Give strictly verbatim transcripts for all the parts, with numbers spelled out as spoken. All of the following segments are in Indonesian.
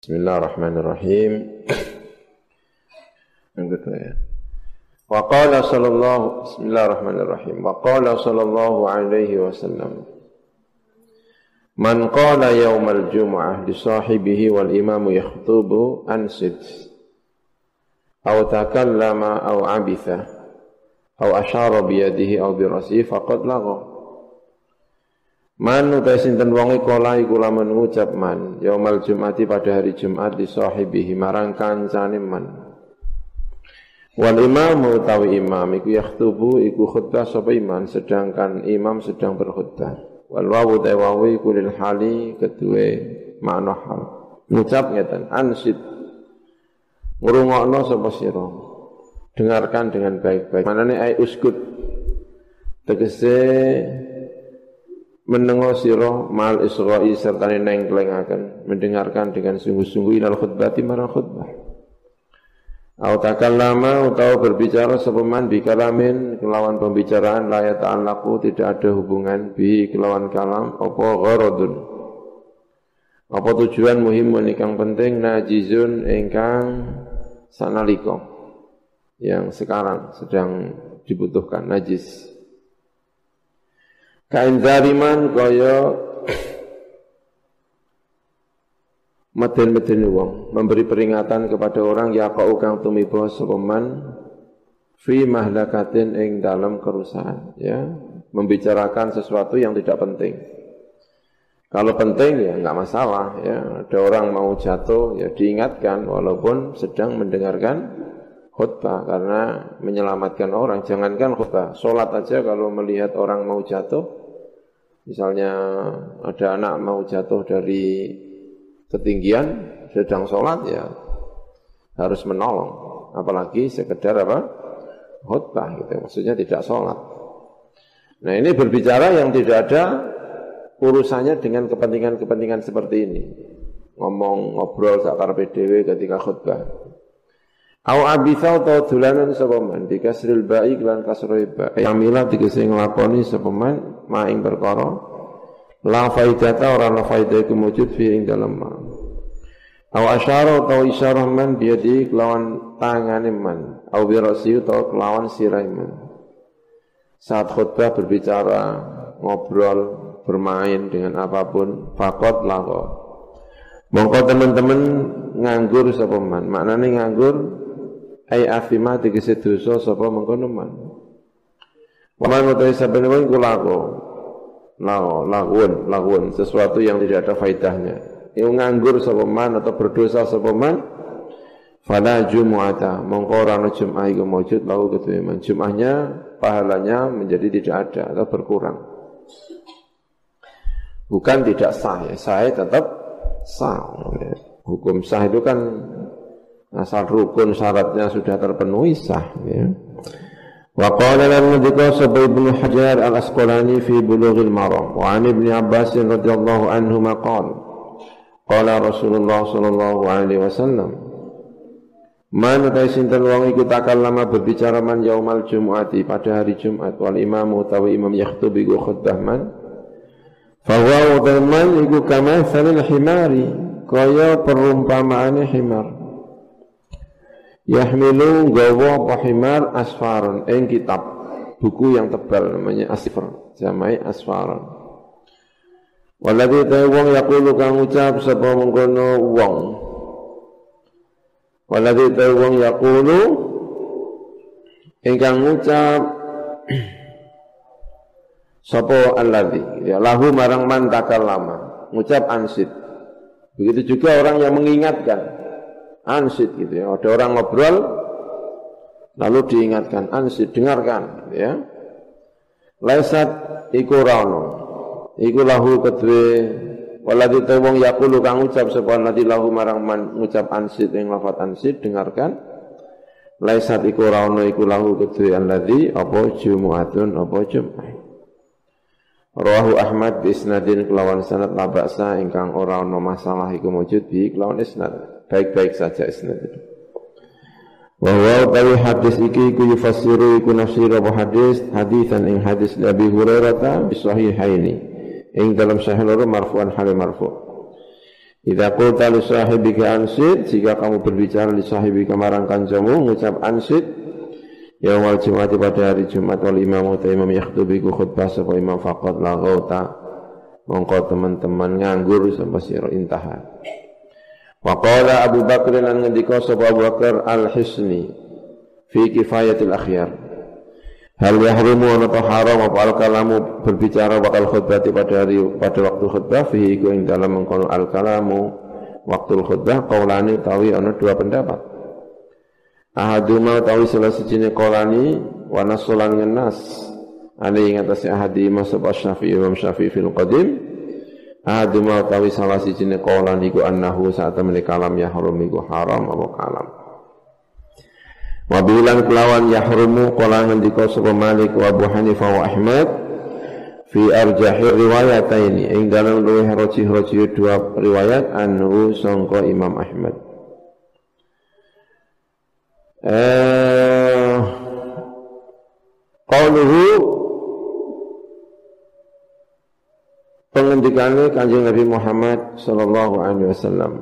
Bismillahirrahmanirrahim. Yang kedua ya. Wa qala sallallahu Bismillahirrahmanirrahim. Wa qala sallallahu alaihi wasallam. Man qala yaumal jum'ah li sahibihi wal imamu yakhutubu ansid. Aw takallama aw abitha. Aw asyara biyadihi aw birasihi faqad lagha. Man utai sinten wongi kola iku lamun ngucap man yaumal jum'ati pada hari Jumat di sahibihi marang kancane man. Wal imamu utawi imam iku yakhtubu iku khutbah sapa imam sedangkan imam sedang berkhutbah. Wal wawu ta wawu iku lil hali kedue makna hal. Ngucap ngeten ansid ngrungokno sapa sira. Dengarkan dengan baik-baik. Manane ai uskut tegese mendengar sira mal isra'i serta nengklengaken mendengarkan dengan sungguh-sungguh ilal khutbati marang khutbah. Au takallama utawa berbicara sapa man bi kalamin kelawan pembicaraan la ya ta'allaqu tidak ada hubungan bi kelawan kalam apa gharadun. Apa tujuan muhimun ingkang penting najizun ingkang sanalika yang sekarang sedang dibutuhkan najis. Kain zariman kaya meden-meden wong memberi peringatan kepada orang yaqau kang tumiba sapa man fi mahlakatin ing dalam kerusakan ya, membicarakan sesuatu yang tidak penting. Kalau penting ya enggak masalah ya, ada orang mau jatuh ya diingatkan walaupun sedang mendengarkan khutbah karena menyelamatkan orang. Jangankan khutbah, salat aja kalau melihat orang mau jatuh, misalnya ada anak mau jatuh dari ketinggian sedang sholat ya harus menolong, apalagi sekedar apa khutbah gitu, maksudnya tidak sholat. Nah ini berbicara yang tidak ada urusannya dengan kepentingan-kepentingan seperti ini, ngomong ngobrol sakarepe dhewe ketika khutbah. Au abitha atau dulanan sapa man dikasril ba'i lan kasroe ba. Yamila dikese nglakoni sapa man maing perkara la faidata ora ana faidah iku mujud fi ing dalem ma. Au asyara atau isyarah man biadi kelawan tangane man. Au birasi atau kelawan sirah man. Saat khutbah berbicara, ngobrol, bermain dengan apapun faqat lawa. Mongko teman-teman nganggur sapa man. Maknane nganggur ai afima tegese dosa sapa mengkono man. Waman utai saben wong iku lago. Lago, lagun, lagun sesuatu yang tidak ada faedahnya. Yang nganggur sapa man atau berdosa sapa man fala jumu'ata mongko ora ana Jumat iku maujud lahu kedue man. Jumatnya pahalanya menjadi tidak ada atau berkurang. Bukan tidak sah ya, sah tetap sah. Hukum sah itu kan asal rukun syaratnya sudah terpenuhi sah ya. Wa qala lan dzikra sabay Ibnu Hajar Al-Asqalani fi Bulughil Maram wa an Ibnu Abbas radhiyallahu anhu maqala qala Rasulullah sallallahu alaihi wasallam man ta sinten wong iku takallama berbicara man yaumal jumu'ati pada hari Jumat wal imamu utawi imam yakhtub iku khutbah man fa huwa man iku kama salil himari kaya perumpamaane himar yahmilu gawa pahimar asfaron ing kitab buku yang tebal namanya asfar jamai asfaron waladhi ta wong yaqulu kang ucap sapa mengkono wong waladhi ta wong yaqulu ingkang ngucap sapa alladhi ya lahu marang man takallama ngucap ansid. Begitu juga orang yang mengingatkan ansid gitu ya. Ada orang ngobrol lalu diingatkan ansid, dengarkan gitu ya. Laisat iku rano iku lahu kedue waladhi ta wong yaqulu kang ucap sapa nadi lahu marang man ngucap ansid ing lafat ansid, dengarkan. Laisat iku rano iku lahu kedue alladhi apa jumu'atun apa jum'ah. Rawahu Ahmad bi isnadin kelawan sanad la ba'sa ingkang ora ana masalah iku mujud bi kelawan isnad. Baik-baik saja isnad itu. Wa huwa tawi hadis iki iku yufassiru iku nafsir apa hadis hadisan ing hadis Abi Hurairah bi sahihaini ing dalam sahih loro marfu'an hal marfu'. Idza qulta li sahibika ansid, jika kamu berbicara li sahibika marang kancamu ngucap ansid yaumal jum'ati pada hari Jumat wal imam ta imam yakhtubiku khutbah sapa imam faqat la ghauta mongko teman-teman nganggur sampai sira intaha. Wa qala Abu Bakr lan ngendika sapa Abu Bakar al-Hisni fi kifayatil akhyar. Hal yahrumu wa haram apa al-kalamu berbicara wakal khutbah pada hari pada waktu khutbah fihi ku ing dalam mengkono al-kalamu waktu khutbah qaulani tawi ana dua pendapat. Ahaduma tawi salah sijine qaulani wa nasulan ngenas ali ing atase ahadima sapa Syafi'i Imam Syafi'i fil qadim. Ahaduma tawi salah sijine qaulani ku annahu saat temene kalam yahrum iku haram apa kalam. Wabilan kelawan yahrumu qala ngendika sapa Malik wa Abu Hanifah wa Ahmad fi arjahir riwayataini ing dalam luwih rajih-rajih dua riwayat anhu sangka Imam Ahmad. Eh qauluhu pengendikane Kanjeng Nabi Muhammad sallallahu alaihi wasallam.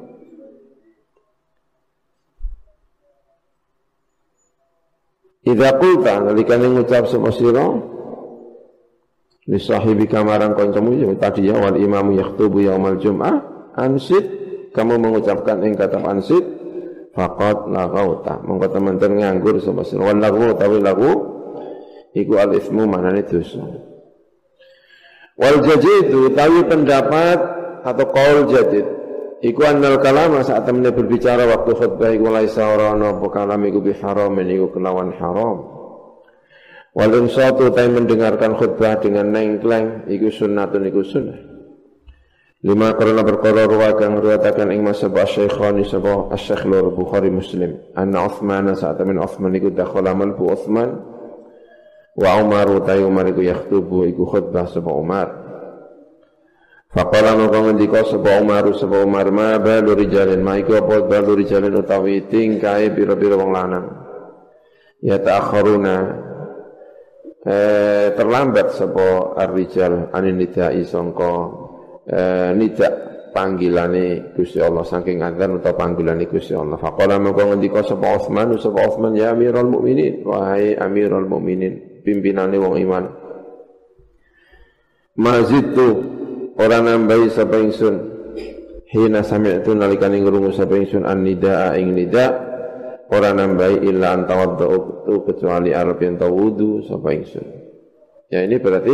Idza qulta nalikane ngucap sapa sira li sahibika marang kancamu ya tadi ya wal imamu yakhutubu yaumal jum'ah ansid kamu mengucapkan ing kata ansid faqad laghauta mongko teman-teman nganggur sapa sira wal laghu tawi lagu iku al ismu manane dosa wal jadid tawi pendapat atau qaul jadid iku annal kalama saat temene berbicara waktu khutbah iku laisa ora ana apa kalam iku biharam iku kelawan haram. Wal insatu ta mendengarkan khutbah dengan nengkleng iku sunnatun iku sunnah. Lima karena perkara ruwa kang riwayataken ing masa Syekhani sapa Asy-Syaikh Bukhari Muslim. Anna Utsman saat temene Utsman iku dakhala malbu Utsman wa Umar ta Umar iku yakhutubu iku khutbah sapa Umar. Faqala maka ngendika sapa Umar sapa Umar ma balu rijalin ma iku apa balu rijalin utawi tingkae pira-pira wong lanang ya ta'akhiruna eh terlambat sapa ar-rijal anin nidai sangka eh nida panggilane Gusti Allah saking adzan utawa panggilane Gusti Allah. Faqala maka ngendika sapa Utsman sapa Utsman ya Amirul Mukminin wahai Amirul Mukminin pimpinane wong iman mazitu ora nambahi sapa ingsun hina sami'tu nalikane ngrungu sapa ingsun an-nidaa ing nida ora nambahi illa antawaddu kecuali arep yen wudu sapa ingsun. Ya ini berarti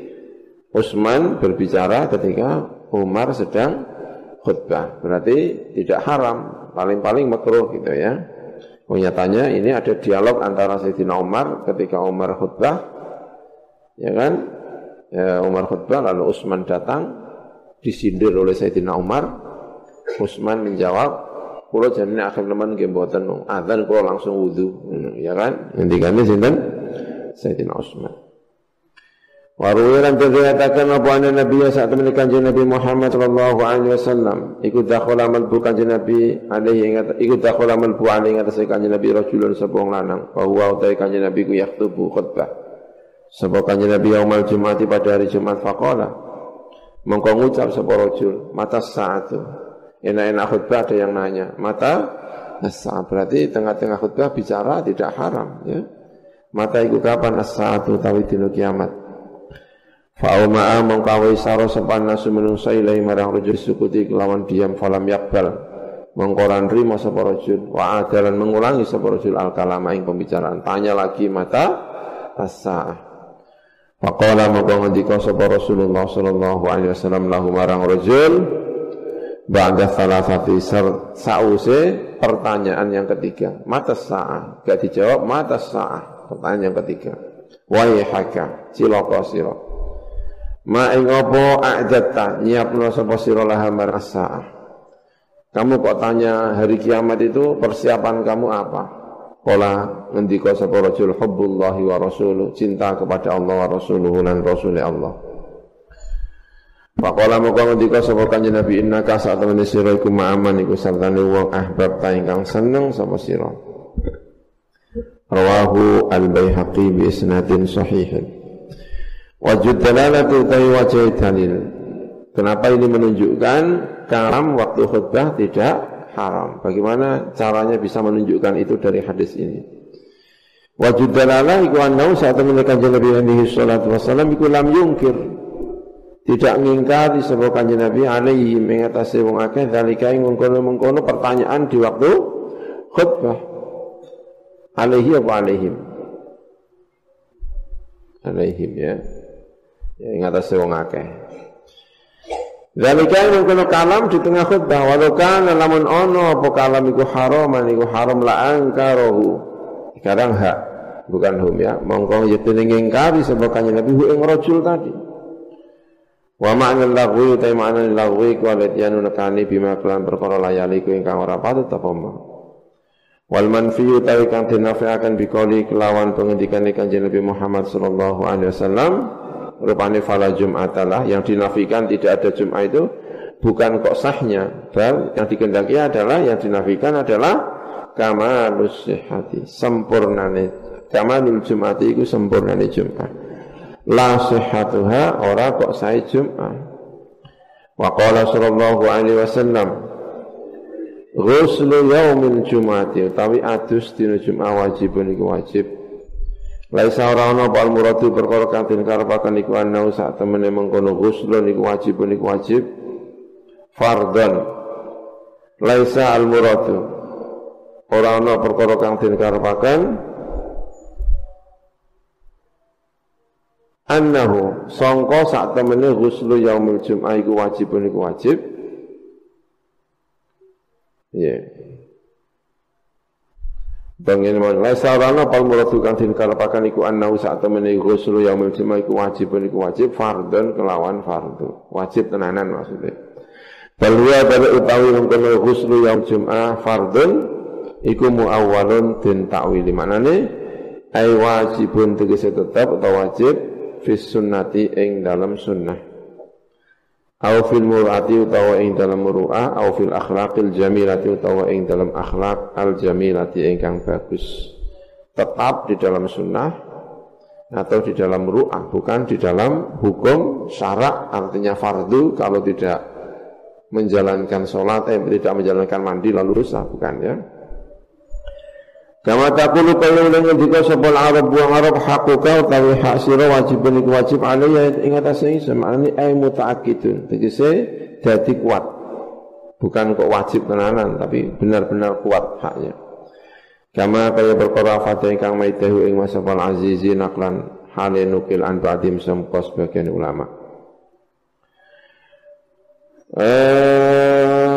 Utsman berbicara ketika Umar sedang khutbah. Berarti tidak haram, paling-paling makruh gitu ya. Oh, nyatanya ini ada dialog antara Sayyidina Umar ketika Umar khutbah. Ya kan? Ya, Umar khutbah lalu Utsman datang disindir oleh Sayyidina Umar. Utsman menjawab, "Kula jenenge akhir teman nggih mboten adzan kula langsung wudu." Ya kan? Ngendikane sinten? Sayyidina Utsman. Wa ruwiyan dikatakan apa Nabi saat menika Kanjeng Nabi Muhammad sallallahu alaihi wasallam iku dakhala malbu Kanjeng Nabi alaihi ingat iku dakhala malbu alaihi ingat Kanjeng Nabi rajulun sapa wong lanang wa huwa utai Kanjeng Nabi ku yaktubu khutbah. Sebab Kanjeng Nabi yaumal Jum'ati pada hari Jumat faqala mongko ngucap sapa rajul mata saatu enak-enak khutbah ada yang nanya mata as-saat berarti tengah-tengah khutbah bicara tidak haram ya mata iku kapan as-saatu tawi dina kiamat fa'uma mongko isara sapa nasu menungsa ilahi marang rajul sukuti kelawan diam falam yakbal mongko ora nrimo sapa rajul wa adalan mengulangi sapa rajul al-kalama ing pembicaraan tanya lagi mata as-saat. Faqala maka ngendika sapa Rasulullah sallallahu alaihi wasallam lahu marang rajul ba'da salasati sause pertanyaan yang ketiga mata sa'a gak dijawab mata sa'a pertanyaan yang ketiga wa haka cilaka sira ma ing apa a'datta nyiapno sapa sira laha marang sa'a kamu kok tanya hari kiamat itu persiapan kamu apa? Qala ngendika sapa rajul hubbullahi wa rasuluh cinta kepada Allah wa rasuluhu lan rasul Allah. Faqala maka ngendika sapa Kanjeng Nabi innaka sa'tamani sira iku ma'aman iku sartane wong ahbab ta ingkang seneng sapa sira. Rawahu al-Baihaqi bi isnadin sahih. Wajud dalalatu ta'i wajah dalil Kenapa ini menunjukkan kalam waktu khutbah tidak haram? Bagaimana caranya bisa menunjukkan itu dari hadis ini? Wajud dalalah iku annahu saat menekan Nabi alaihi salatu wasallam iku lam yungkir. Tidak ngingkari sebab kanjeng Nabi alaihi mengatasi wong akeh zalika ing mengkono-mengkono pertanyaan di waktu khutbah. Alaihi apa alaihim? Alaihim ya. Ya ngatasi wong akeh. Zalika ing mengkono kalam di tengah khutbah walau kana lamun ono apa kalam iku haraman iku haram la angkarahu. Sekarang hak bukan hum ya. Mongko yetene ngingkari sebab kanjeng Nabi hu ing rajul tadi. Wa ma'na lagwi ta ma'na lagwi kualitian nekani bima kelan perkara layali ku ingkang ora patut apa ma. Wal manfiyu ta kang dinafiaken bikoli kelawan pengendikan Kanjeng Nabi Muhammad sallallahu alaihi wasallam rupane fala jum'atalah yang dinafikan tidak ada Jumat itu bukan kok sahnya, bal yang dikehendaki adalah yang dinafikan adalah kamalus sihhati, sempurnane kamalul Jum'ati iku sempurnane Jumat. La sihhatuha ora kok sae Jumat. Wa qala sallallahu alaihi wasallam ghuslu yaumil jum'ati utawi adus dina Jumat wajibun iku wajib. Laisa ora ana apa muradu perkara kang den karepaken iku ana sak temene mengkono ghuslu niku wajibun iku wajib fardhan. Laisa al muradu ora ana perkara kang den karepaken annahu sangka sak temene ghuslu yaumil jum'ah iku wajibun iku wajib. Ya. Yeah. Bangene man la sarana pal muradu kang dikarepaken iku annahu sak temene ghuslu yaumil jum'ah iku wajibun iku wajib fardhon kelawan fardu. Wajib tenanan maksudnya. Balwa pada utawi mengkono ghuslu yaumil jum'ah fardhon iku muawwalun den takwili manane ai wajibun tegese tetep utawa wajib fis sunnati ing dalam sunnah au fil murati utawa ing dalam muru'ah au fil akhlaqil jamilati utawa ing dalam akhlak al jamilati ingkang bagus tetap di dalam sunnah atau di dalam muru'ah bukan di dalam hukum syarak artinya fardu kalau tidak menjalankan sholat eh tidak menjalankan mandi lalu rusak bukan ya. Kama taqulu kaya dengan dika sebal Arab buang Arab hakuka utawi hak sira wajibun iku wajib alaiya ing atase semane ay mutaakkidun tegese dadi kuat bukan kok wajib tenanan tapi benar-benar kuat haknya. Kama kaya perkara fatih kang maitahu ing masafal azizi naklan hale nukil an ba'dim samqa sebagian ulama. Eh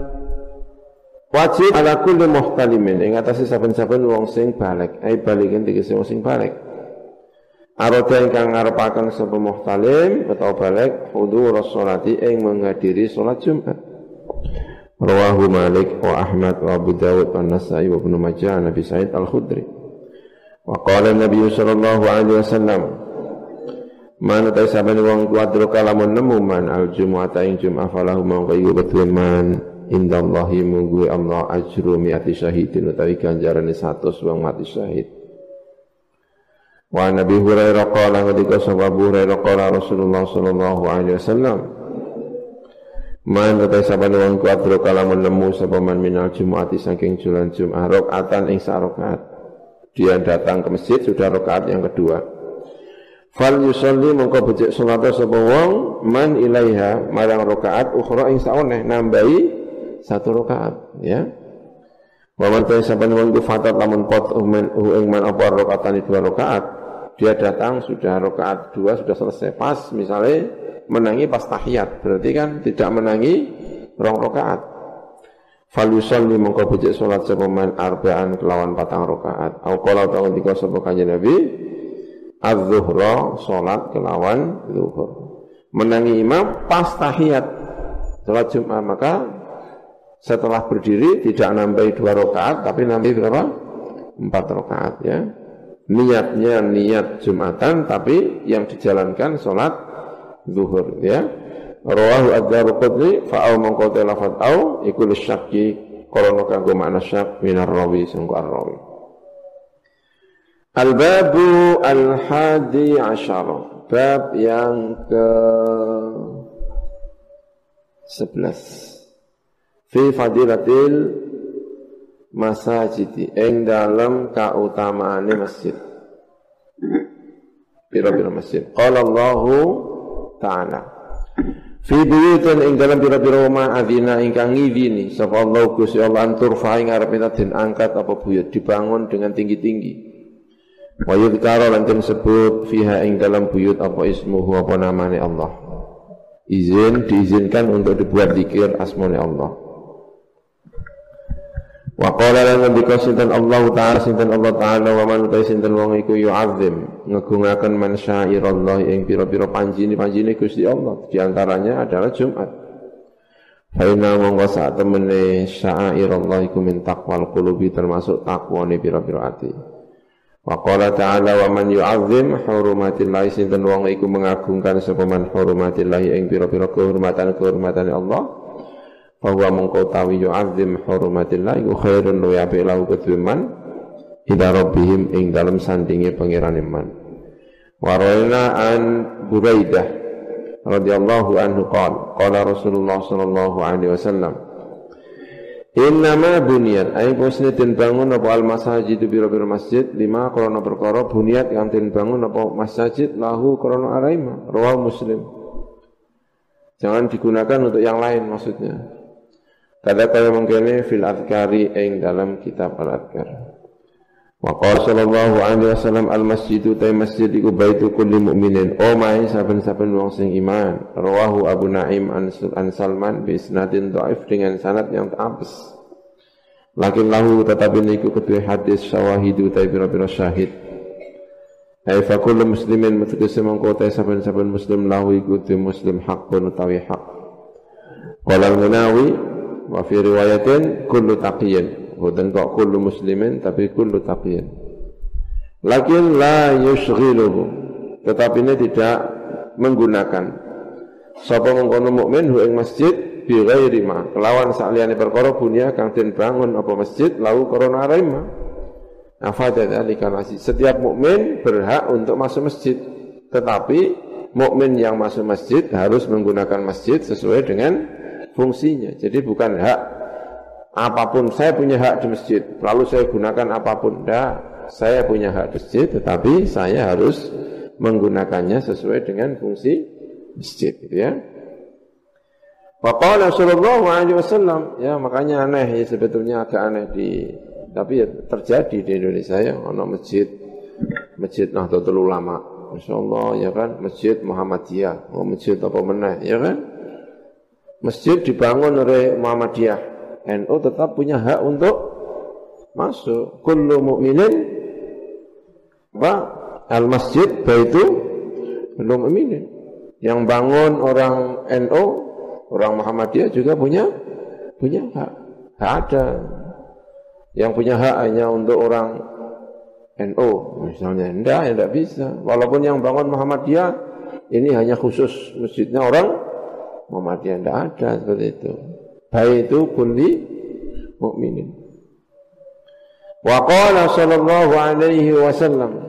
wajib ala kulli muhtalimin ing atase saben-saben wong sing balik ai balikin tegese wong sing balik arada ingkang ngarepaken sapa muhtalim utawa balik hudur sholati ing menghadiri salat Jumat. Rawahu Malik wa Ahmad wa Abu Dawud wa Nasa'i wa Ibnu Majah Nabi Sa'id Al-Khudri wa qala Nabi sallallahu alaihi wasallam man ta saben wong kuadro kalamun nemu man al-jumu'ata ing Jumat falahu mangko iku betuman indallahi munggu Allah ajru mi'ati syahidin utawi ganjarane seratus wong mati syahid. Wa Nabi Hurairah qala ngendika sapa Abu Hurairah qala Rasulullah sallallahu alaihi wasallam man ta saben wong kuadro kalamun nemu sapa man minal jumu'ati saking julan Jumat rakaatan ing sak rakaat dia datang ke masjid sudah rakaat yang kedua fal yusalli mongko becik salat sapa wong man ilaiha marang rakaat ukhra ing saone nambahi satu rakaat ya. Wa man saban wong ku fatat lamun pot ing man apa rakaatan dua rakaat dia datang sudah rakaat dua sudah selesai pas misalnya menangi pas tahiyat berarti kan tidak menangi rong rakaat. Fal yusalli mongko becik salat sapa man arba'an kelawan patang rakaat. Au qala ta'ala dika sapa kanjeng Nabi az-zuhra salat kelawan zuhur. Menangi imam pas tahiyat salat Jumat maka setelah berdiri tidak nambahi dua rakaat tapi nambahi berapa? Empat rakaat ya. Niatnya niat Jumatan tapi yang dijalankan sholat zuhur ya. Rawahu ad-Darqutni fa'au mangko lafaz au iku lisyaqi krana kanggo makna syak minar rawi sangko ar-rawi. Al-babu al-hadi asyara bab yang ke sebelas. Fi fadilatil masajidi ing dalam kautamaane masjid. Pira-pira masjid. Qala Allahu ta'ala fi buyutin ing dalam pira-pira omah adzina ingkang ngidini sapa Allah Gusti Allah antur fa ing arep den angkat apa buyut dibangun dengan tinggi-tinggi. Wa yudhkara lan den sebut fiha ing dalam buyut apa ismuhu apa namane Allah. Izin diizinkan untuk dibuat zikir asmane Allah. Wa qala lan ngendika sinten Allah taala sinten Allah taala wa man utai sinten wong iku yu'azzim ngegungaken man syairallah ing pira-pira panjine-panjine Gusti Allah di antaranya adalah Jumat. Fa inna monggo sak temene syairallah iku min taqwal qulubi termasuk takwane pira-pira ati. Wa qala ta'ala wa man yu'azzim hurumatillah sinten wong iku mengagungkan sapa man hurumatillah ing pira-pira kehormatan-kehormatan Allah. Bahwa mengkau tawi yu'azzim hurumatillah iku khairun wa yabilahu kedhuman ila rabbihim ing dalam sandinge pangeran iman. Wa raina an Buraidah radhiyallahu anhu qala qala Rasulullah sallallahu alaihi wasallam innama buniyat ay posne den bangun apa al masajid biro-biro masjid lima krana perkara buniyat kang den bangun apa masjid lahu krana araima rawahu Muslim. Jangan digunakan untuk yang lain maksudnya. Kada kaya mengkene fil adhkari ing dalam kitab al-adhkar. Wa qala sallallahu alaihi wasallam al masjidu ta masjid iku baitu kulli mukminin. O mai saben-saben wong sing iman. Rawahu Abu Naim an Salman bi isnadin dhaif dengan sanad yang apes. Lakin lahu tetapi niku kedue hadis syawahidu ta pira-pira syahid. Ai fa kullu muslimin mutakassim mongko ta saben-saben muslim lahu iku muslim hakun utawi hak. Qala al-Munawi wa fi riwayatin kullu taqiyin bukan kok kullu muslimin tapi kullu taqiyin lakin la yushghiluhu tetapi ini tidak menggunakan sapa mengkono mukmin hu ing masjid bi ghairi ma kelawan saliyane perkara bunya kang den bangun apa masjid lau korona raima afada dzalika masjid setiap mukmin berhak untuk masuk masjid tetapi mukmin yang masuk masjid harus menggunakan masjid sesuai dengan fungsinya. Jadi bukan hak apapun saya punya hak di masjid lalu saya gunakan apapun. Tidak, saya punya hak di masjid tetapi saya harus menggunakannya sesuai dengan fungsi masjid gitu ya. Wa qala sallallahu alaihi wasallam ya makanya aneh ya sebetulnya agak aneh di tapi ya terjadi di Indonesia ya ono masjid Masjid Nahdlatul Ulama masyaallah ya kan Masjid Muhammadiyah oh masjid apa meneh ya kan. Masjid dibangun oleh Muhammadiyah, N U tetap punya hak untuk masuk. Kullu mu'minin apa? Al-masjid baitu kullu mu'minin. Yang bangun orang N U, orang Muhammadiyah juga punya punya hak. Hak ada. Yang punya hak hanya untuk orang N U misalnya. Enggak, ya enggak bisa. Walaupun yang bangun Muhammadiyah ini hanya khusus masjidnya orang Muhammadiyah tidak ada seperti itu. Baitu kulli mukminin. Wa qala sallallahu alaihi wasallam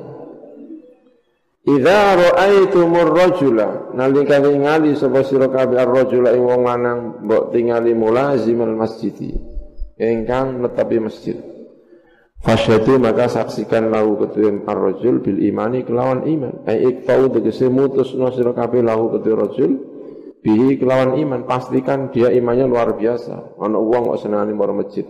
idza ra'aitumur rajula nalika ningali sapa sira kabeh ar-rajula ing wong lanang mbok tingali mulazimal masjidi ingkang netepi masjid. Fasyhadu maka saksikan lahu kedue ar-rajul bil imani kelawan iman. Ai iktau tegese mutusna sira kabeh lahu kedue rajul bihi kelawan iman, pastikan dia imannya luar biasa. Ana wong kok senengane maro masjid.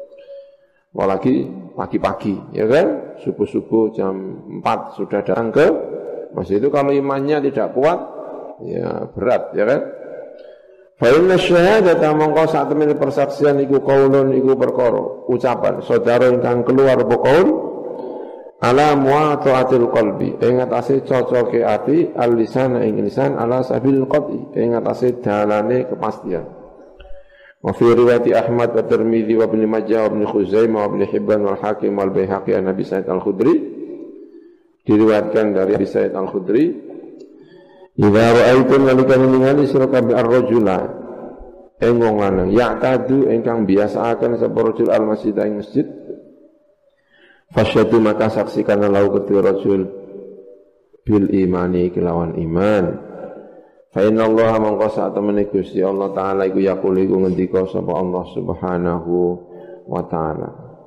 Apalagi pagi-pagi, ya kan? Subuh-subuh jam empat sudah datang ke masjid itu kalau imannya tidak kuat, ya berat, ya kan? Fa inna syahadata mongko sak temene persaksian iku qaulun iku perkara, ucapan saudara ingkang keluar apa qaul ala mu'ataatil qalbi ing atase cocoke ati al-lisan ing lisan ala sabil qati ing atase dalane kepastian. Wa fi riwayat Ahmad wa Tirmidzi wa Ibnu Majah wa Ibnu Khuzaimah wa Ibnu Hibban wal Hakim wal Baihaqi an Nabi Sa'id Al-Khudri diriwayatkan dari Abi Sa'id Al-Khudri idza ra'aitum nalika ningali sira kabeh ar-rajula ing wong lanang ya'tadu ingkang biasaaken sapa rajul al-masjid ing masjid fasyadu maka saksikan lahu kedua rajul bil imani kelawan iman Fa inna Allah mongko sak temene Gusti Allah taala iku yaqul iku ngendika sapa Allah Subhanahu wa taala.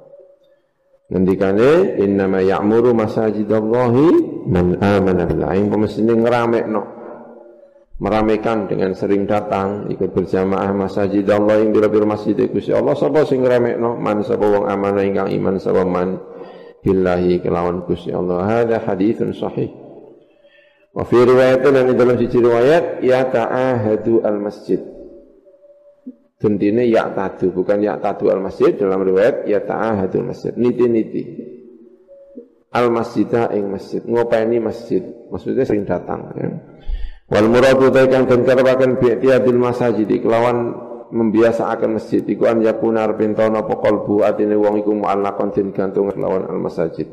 Ngendikane innama ya'muru masajidallahi man amana billahi. Pemestine ngramekno meramekan dengan sering datang ikut berjamaah masjid Allah ing pira-pira masjid Gusti Allah sapa sing ngramekno man sapa wong amanah ingkang iman sapa man billahi kelawan Gusti Allah. Hadza haditsun sahih. Wa fi riwayatin dan dalam siji riwayat ya ta'ahadu al-masjid. Dentine ya tadu bukan ya tadu al-masjid, dalam riwayat ya ta'ahadu al-masjid. Niti-niti al-masjidah ing masjid, ngopeni masjid. Maksudnya sering datang ya. Wal muradu taikan den karepaken bi'tiyadil masajid kelawan membiasakan masjid iku an yakuna arpintana apa qalbu atine wong iku mu'allaqan den gantung kelawan al-masajid.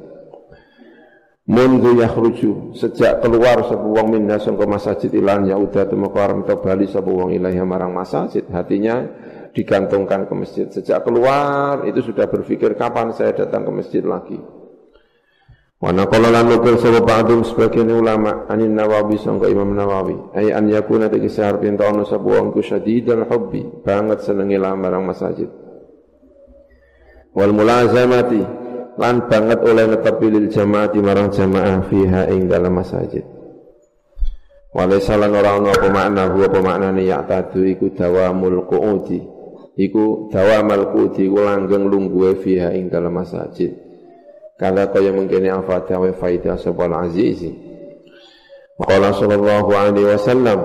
Mundu yakhruju sejak keluar sapa wong minna sangka masjid ilan yauda temeka arep bali sapa wong ilahi marang masjid, hatinya digantungkan ke masjid. Sejak keluar itu sudah berpikir kapan saya datang ke masjid lagi. Wa naqala lan nukil sapa ba'dum sebagian ulama anin Nawawi sangka Imam Nawawi ay an yakuna tekisar pintono sapa wong ku syadidul hubbi banget senenge marang masjid. Wal mulazamati lan banget oleh netepi lil jamaah di marang jamaah fiha ing dalam masjid. Walaysa lan ora ana apa makna huwa apa maknane ya tadu iku dawamul qu'udi iku dawamal qu'udi iku langgeng lungguhe fiha ing dalam masjid. Kala kaya mungkin afata wa faida sabal azizi. Qala sallallahu alaihi wasallam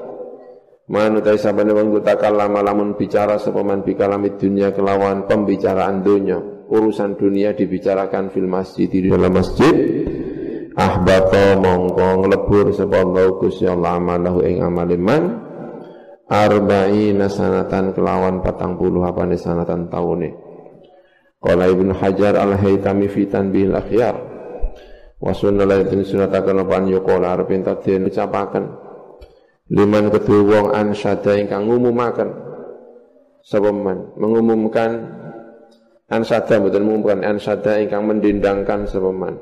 man utai sabane wong takallama lamun bicara sapa man bikalamid dunya kelawan pembicaraan dunya. Urusan dunia dibicarakan fil masjid di dalam masjid ahbata mongko nglebur sapa Allah Gusti Allah amalahu ing amaliman arba'ina sanatan kelawan patang puluh apane sanatan taune. Qala Ibnu Hajar al-Haytami fi tanbihil akhyar wa sunnalatin sunataken apa yuqala arep enta den ucapaken liman kedue wong ansyada ingkang ngumumaken sapa man mengumumkan ansada betul mengumumkan ansada ingkang mendendangkan sapa man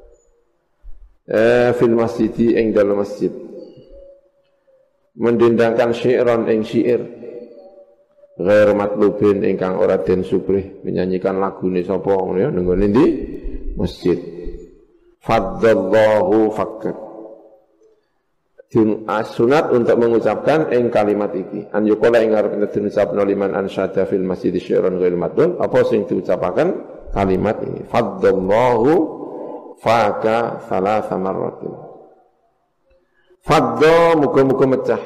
eh fil masjid ing dalam masjid mendendangkan syi'ran ing syair ghair matlubin ingkang ora den subrih menyanyikan lagune sapa ngono ya ning ngene ndi masjid faddallahu fakkat sunat untuk mengucapkan ing kalimat iki an yuqala ing arep diucapno liman ansyada fil masjid syi'ran ghail madun apa sing diucapaken kalimat ini faddallahu faka salasa marratin fadda muga-muga mecah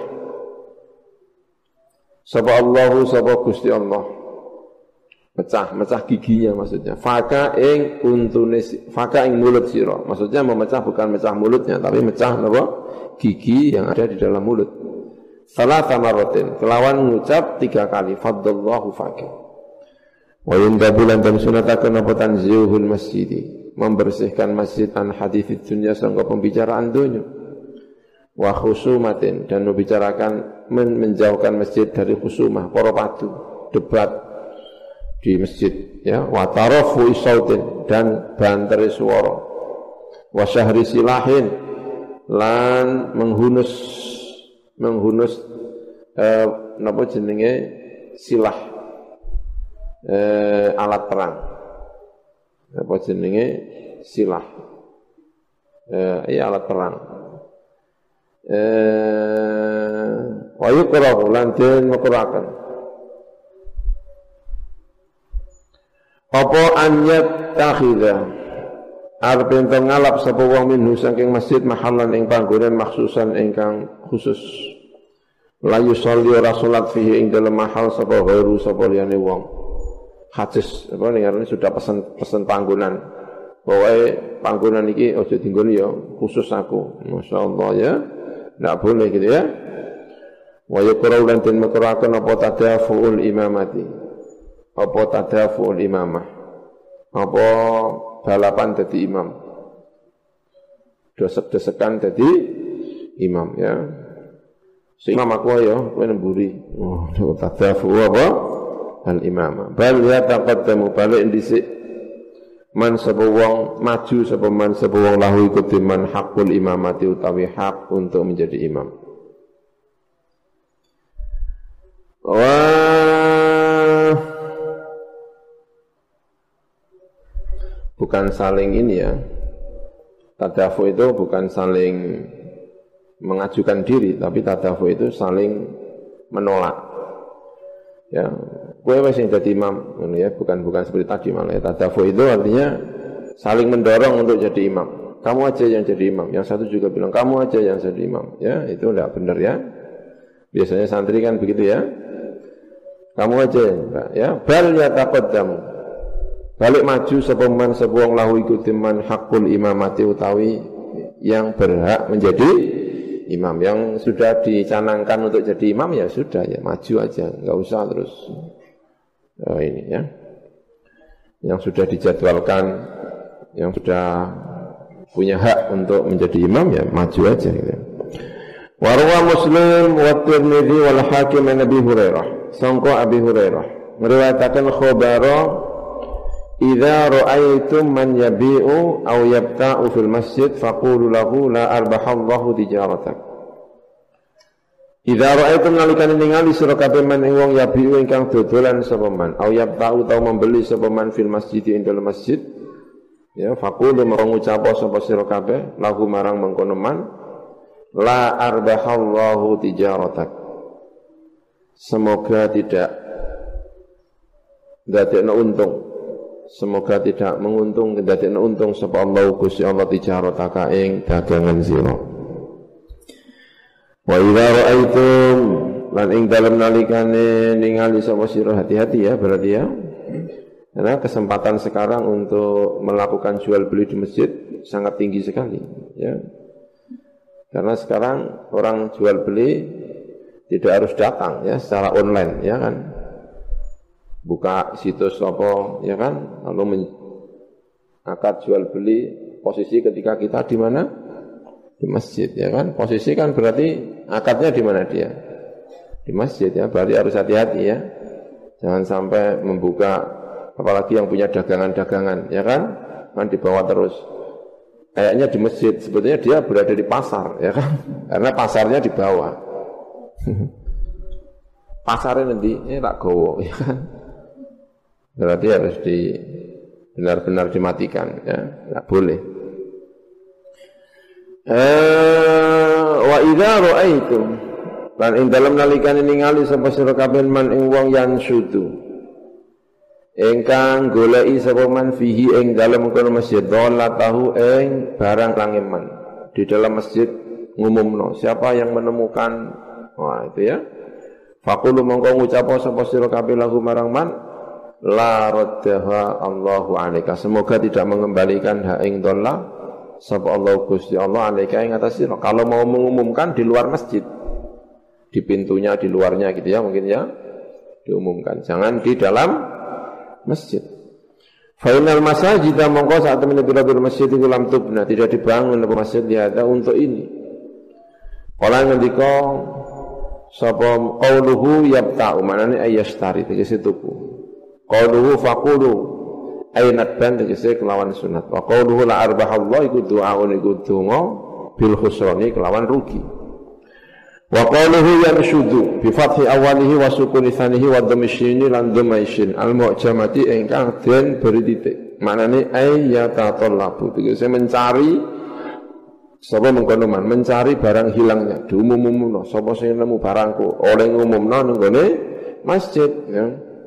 sapa Allahu sapa Gusti Allah mecah mecah giginya maksudnya faka ing untune faka ing mulut sira maksudnya memecah bukan mecah mulutnya tapi mecah napa gigi yang ada di dalam mulut. Salasa marratin kelawan mengucap tiga kali faddallahu fakir. Wa yundabulan dan sunatakan apa tanzihul masjid membersihkan masjid an hadithid dunya sangka pembicaraan dunia. Wa khusumatin dan membicarakan men menjauhkan masjid dari khusumah para padu debat di masjid ya wa tarafu sautin dan banteri suara wa syahri silahin lan menghunus menghunus eh, napa jenenge silah eh, alat perang apa jenenge silah eh, iya alat perang eh, wa yukrahu lan den makruhaken apa anyat takhidha arep ento ngalap sapa wong minhu saking masjid mahallan ing panggonan maksusan ingkang khusus la yusolli ora salat fihi ing dalem mahal sapa ghairu sapa liyane wong hadis apa ning sudah pesen pesen panggonan pokoke panggonan iki aja dinggoni ya khusus aku masyaallah ya ndak boleh gitu ya wa yuqra'u lan den makruhaken apa tadafuul imamati apa tadafuul imamah apa balapan jadi imam desek-desekan jadi imam ya sing imam aku ya kowe nemburi oh tadafu apa al imamah bal ya taqaddamu balik dhisik man sapa wong maju sapa man sapa wong lahu ikut man hakul imamati utawi hak untuk menjadi imam Wah, bukan saling ini ya. Tadafu itu bukan saling mengajukan diri, tapi tadafu itu saling menolak. Ya, gue masih jadi imam, ya bukan bukan seperti tadi malah. Ya. Tadafu itu artinya saling mendorong untuk jadi imam. Kamu aja yang jadi imam. Yang satu juga bilang kamu aja yang jadi imam. Ya, itu enggak benar ya. Biasanya santri kan begitu ya. Kamu aja ya, bal yataqaddamu. Balik maju sepeman sebuang lahu ikuti man hakul imamati utawi yang berhak menjadi imam. Yang sudah dicanangkan untuk jadi imam ya sudah ya maju aja, enggak usah terus oh, ini ya. Yang sudah dijadwalkan, yang sudah punya hak untuk menjadi imam ya maju aja gitu. Wa rawa Muslim wa Tirmidzi wal Hakim an Abi Hurairah. Sangka Abi Hurairah meriwayatkan khabara idza ra'aitum man yabi'u aw yabta'u fil masjid faqulu lahu la arbahallahu tijaratak. Idza ra'aitum nalikane ningali sira kabeh man ing wong yabi'u ingkang dodolan sapa man aw yabta'u tau membeli sapa man fil masjid ing dalem masjid ya faqulu mengucap sapa sira kabeh lahu marang mengkono man la arbahallahu tijaratak. Semoga tidak dadekno untung. Semoga tidak menguntung dadekno untung sapa Allah Gusti Allah tijarataka ing dagangan sira. Wa idza ra'aitum lan ing dalem nalikane ningali sapa sira hati-hati ya berarti ya. Karena kesempatan sekarang untuk melakukan jual beli di masjid sangat tinggi sekali ya. Karena sekarang orang jual beli tidak harus datang ya secara online ya kan. Buka situs apa ya kan lalu akad jual beli posisi ketika kita di mana? Di masjid ya kan. Posisi kan berarti akadnya di mana dia? Di masjid ya. Berarti harus hati-hati ya. Jangan sampai membuka apalagi yang punya dagangan-dagangan ya kan. Kan dibawa terus. Kayaknya di masjid, sebetulnya dia berada di pasar ya kan. Karena pasarnya di bawah. Pasarnya nanti ini tak gowo ya kan. Berarti harus di benar-benar dimatikan ya, enggak boleh. Eh wa idza ra'aitum lan ing dalem nalikane ningali sapa sira kabeh man ing wong yang syudu ingkang goleki sapa man fihi ing dalem kono masjid dola tahu ing barang langeman di dalam masjid ngumumno siapa yang menemukan. Wah itu ya. Faqulu mongko ngucap sapa sira kabeh lahu marang man la raddaha Allahu alaika. Semoga tidak mengembalikan hak ing dolla sapa Allah Gusti Allah alaika ing atas sira. Kalau mau mengumumkan di luar masjid. Di pintunya, di luarnya gitu ya mungkin ya. Diumumkan. Jangan di dalam masjid. Fa innal masajid mongko saat temen biro-biro masjid iku lam tubna tidak dibangun apa masjid lihat untuk ini. Kala ngendika sapa qauluhu yabta'u manane ayastari tegese tuku. Qauluhu faqulu aynat ban tegese kelawan sunat. Wa qauluhu la arbahallahu iku doaun iku donga bil khusrani kelawan rugi. Wa qauluhu yarshudu bi fathi awalihi wa sukuni tsanihi wa dhamishini lan dhamaishin al mu'jamati ingkang den beri titik. Manane ayyatatallabu tegese mencari sapa mengkono man mencari barang hilangnya diumum-umumno sapa sing nemu barangku oleh ngumumno ning gone masjid ya.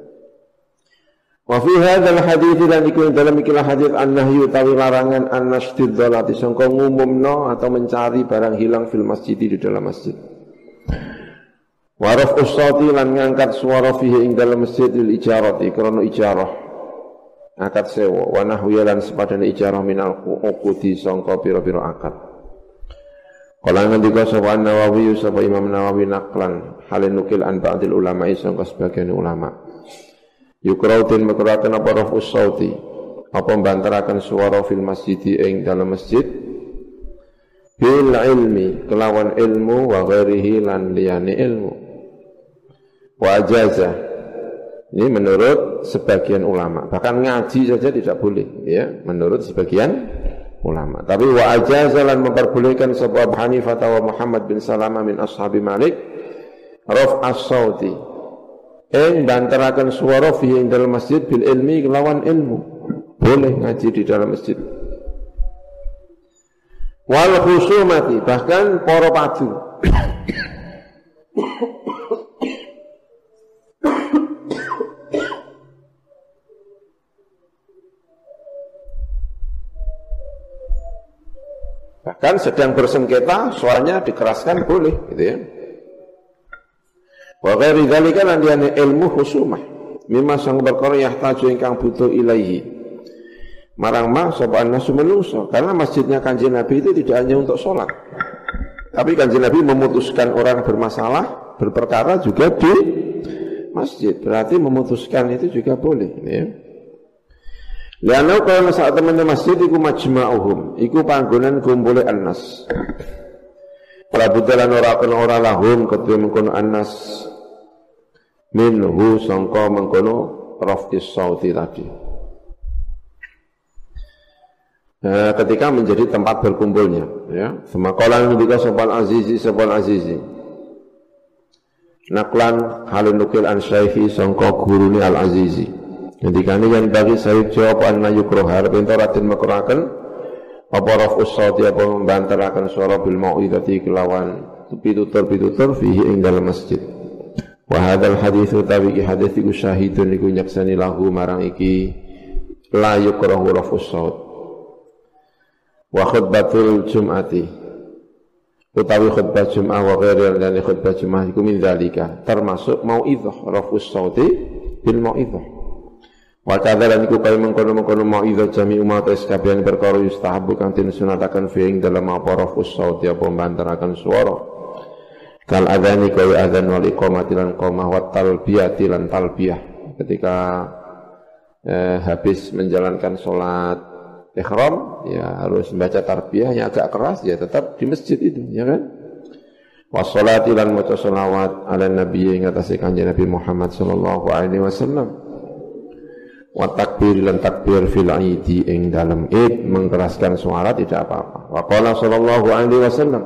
Wa fi hadzal hadits lan iku dalam ikilah hadits an-nahyu tawi larangan an-nashtidhalati sangka ngumumno atau mencari barang hilang fil masjid di dalam masjid. Wa raf'us sauti lan ngangkat suara fihi ing dalam masjid lil ijarati krana ijarah akad sewa wa nahwi lan sepadane ijarah minal uqudi sangka pira-pira akad. Kala ngendika sapa Nawawi sapa Imam Nawawi naklan halin nukil an ba'dil ulama sangka sebagian ulama. Yukrautin makruhaken apa raf'us sauti apa mbantaraken suara fil masjid ing dalam masjid bil ilmi kelawan ilmu wa ghairihi lan liyane ilmu. Wa ajaza ini menurut sebagian ulama bahkan ngaji saja tidak boleh ya menurut sebagian ulama. Tapi wa ajazalan memperbolehkan sapa Abu Hanifah wa Muhammad bin Salamah min ashabi Malik raf as-sauti ing bantaraken swara fi ing dalam masjid bil ilmi kelawan ilmu. Boleh ngaji di dalam masjid. Wal khusumati, bahkan para padu. Bahkan sedang bersengketa, suaranya dikeraskan boleh, gitu ya. Wa ghairi dzalika lan diane ilmu khusumah. Mimma sang perkara yahtaju ingkang butuh ilaihi. Marang ma sapa nasu menungso, karena masjidnya Kanjeng Nabi itu tidak hanya untuk sholat. Tapi Kanjeng Nabi memutuskan orang bermasalah, berperkara juga di masjid. Berarti memutuskan itu juga boleh, ya. Lianau kalau saat teman masjid iku majma'uhum, iku panggonan kumpule annas. Prabudalan ora kena ora lahum kedue mengkono annas minhu sangka mengkono raf'is sauti tadi. Nah, ketika menjadi tempat berkumpulnya, ya. Semakalan ketika sopal azizi sopal azizi. Naklan halun nukil an syaihi sangka guruni al azizi. Ketika ini yang bagi saya jawab anna yukroh harap itu ratin makurakan apa raf'us sauti apa membantarakan suara bil mau'idati kelawan pitutur-pitutur fihi ing dalam masjid. Wa hadzal haditsu tawi hadits iku syahidun iku nyaksani lahu marang iki la yukrohu raf'us saut. Wa khutbatul jum'ati utawi khutbah jum'ah wa ghairi dan khutbah jum'ah iku min dzalika termasuk mau'idhah raf'us sauti bil mau'idhah. Wa kadzalan iku kaya mengkono-mengkono mau'izah jami umat sekabian perkara yustahabu kang disunataken fi ing dalem apa raf'us sauti apa mbantaraken swara. Kal adzani kaya adzan wal iqamati lan qamah wa talbiyati lan talbiyah. Ketika eh, habis menjalankan salat ihram ya harus membaca tarbiyah yang agak keras ya tetap di masjid itu, ya kan? Wa sholati lan maca sholawat ala nabi ing atase Kanjeng Nabi Muhammad sallallahu alaihi wasallam. Wa takbir lan takbir fil aidi ing dalam id mengkeraskan suara tidak apa-apa. Wa qala sallallahu alaihi wasallam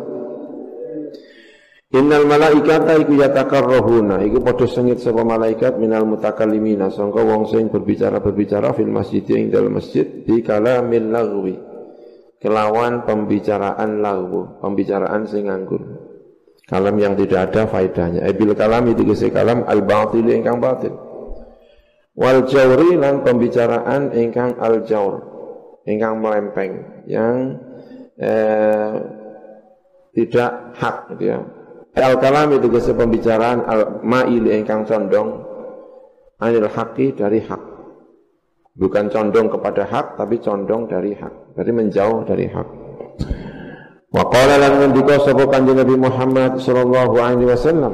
innal malaikata iku yatakarrahuna iku padha sengit sapa malaikat minal mutakallimina sangka wong sing berbicara-berbicara fil masjid ing dalam masjid di kalamil lagwi kelawan pembicaraan lagwu pembicaraan sing nganggur kalam yang tidak ada faedahnya e bil kalam itu kese kalam al batil ingkang batil wal jawri lan pembicaraan ingkang al jawr ingkang melempeng yang eh, tidak hak gitu ya. Al kalam itu kese pembicaraan al ma'il ingkang condong anil haqi dari hak. Bukan condong kepada hak tapi condong dari hak. Berarti menjauh dari hak. Wa qala lan ngendika sapa Kanjeng Nabi Muhammad sallallahu alaihi wasallam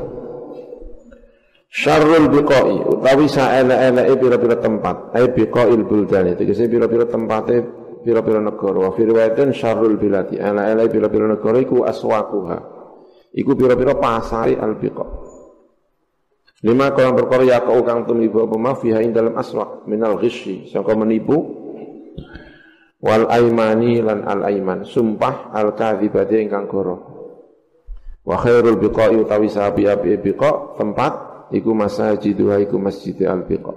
syarrul biqai utawi saele-eleke pira-pira tempat ai biqail buldan itu kese pira-pira tempate pira-pira negara wa fi riwayatin syarrul bilati ele-ele pira-pira negara iku aswaquha iku pira-pira pasari al-biqa lima kalam perkara ya kau kang tumiba apa ma fiha ing dalam aswaq minal ghisyi sangka menipu wal aimani lan al aiman sumpah al kadzibati ingkang goro wa khairul biqai utawi sapi api biqa tempat iku masajiduha iku masjid al-biqa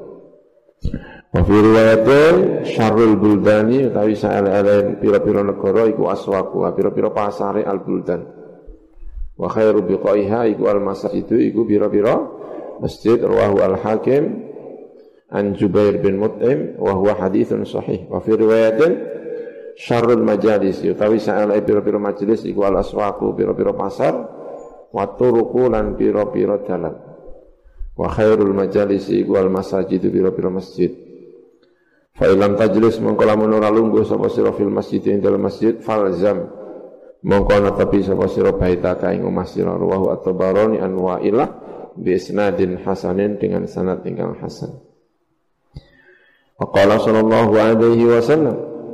wa fi riwayatin syarrul buldani utawi saele-ele pira-pira negara iku aswaqu pira-pira pasare al-buldan wa khairu biqaiha iku al-masajidu iku pira-pira masjid rawahu al-hakim an Jubair bin Mut'im wa huwa haditsun sahih wa fi riwayatin syarrul majalis utawi saele pira-pira majelis iku al-aswaqu pira-pira pasar wa turuqu lan pira-pira dalan wa khairul majalisi wal masajid biro-biro masjid fa ilam tajlis mongko lamun ora lungguh sapa sira fil masjid ing dalam masjid falzam mongko netepi sapa sira baita ka ing omah sira ruwahu at-tabarani an wa'ilah bi isnadin hasanin dengan sanad ingkang hasan wa qala sallallahu alaihi wasallam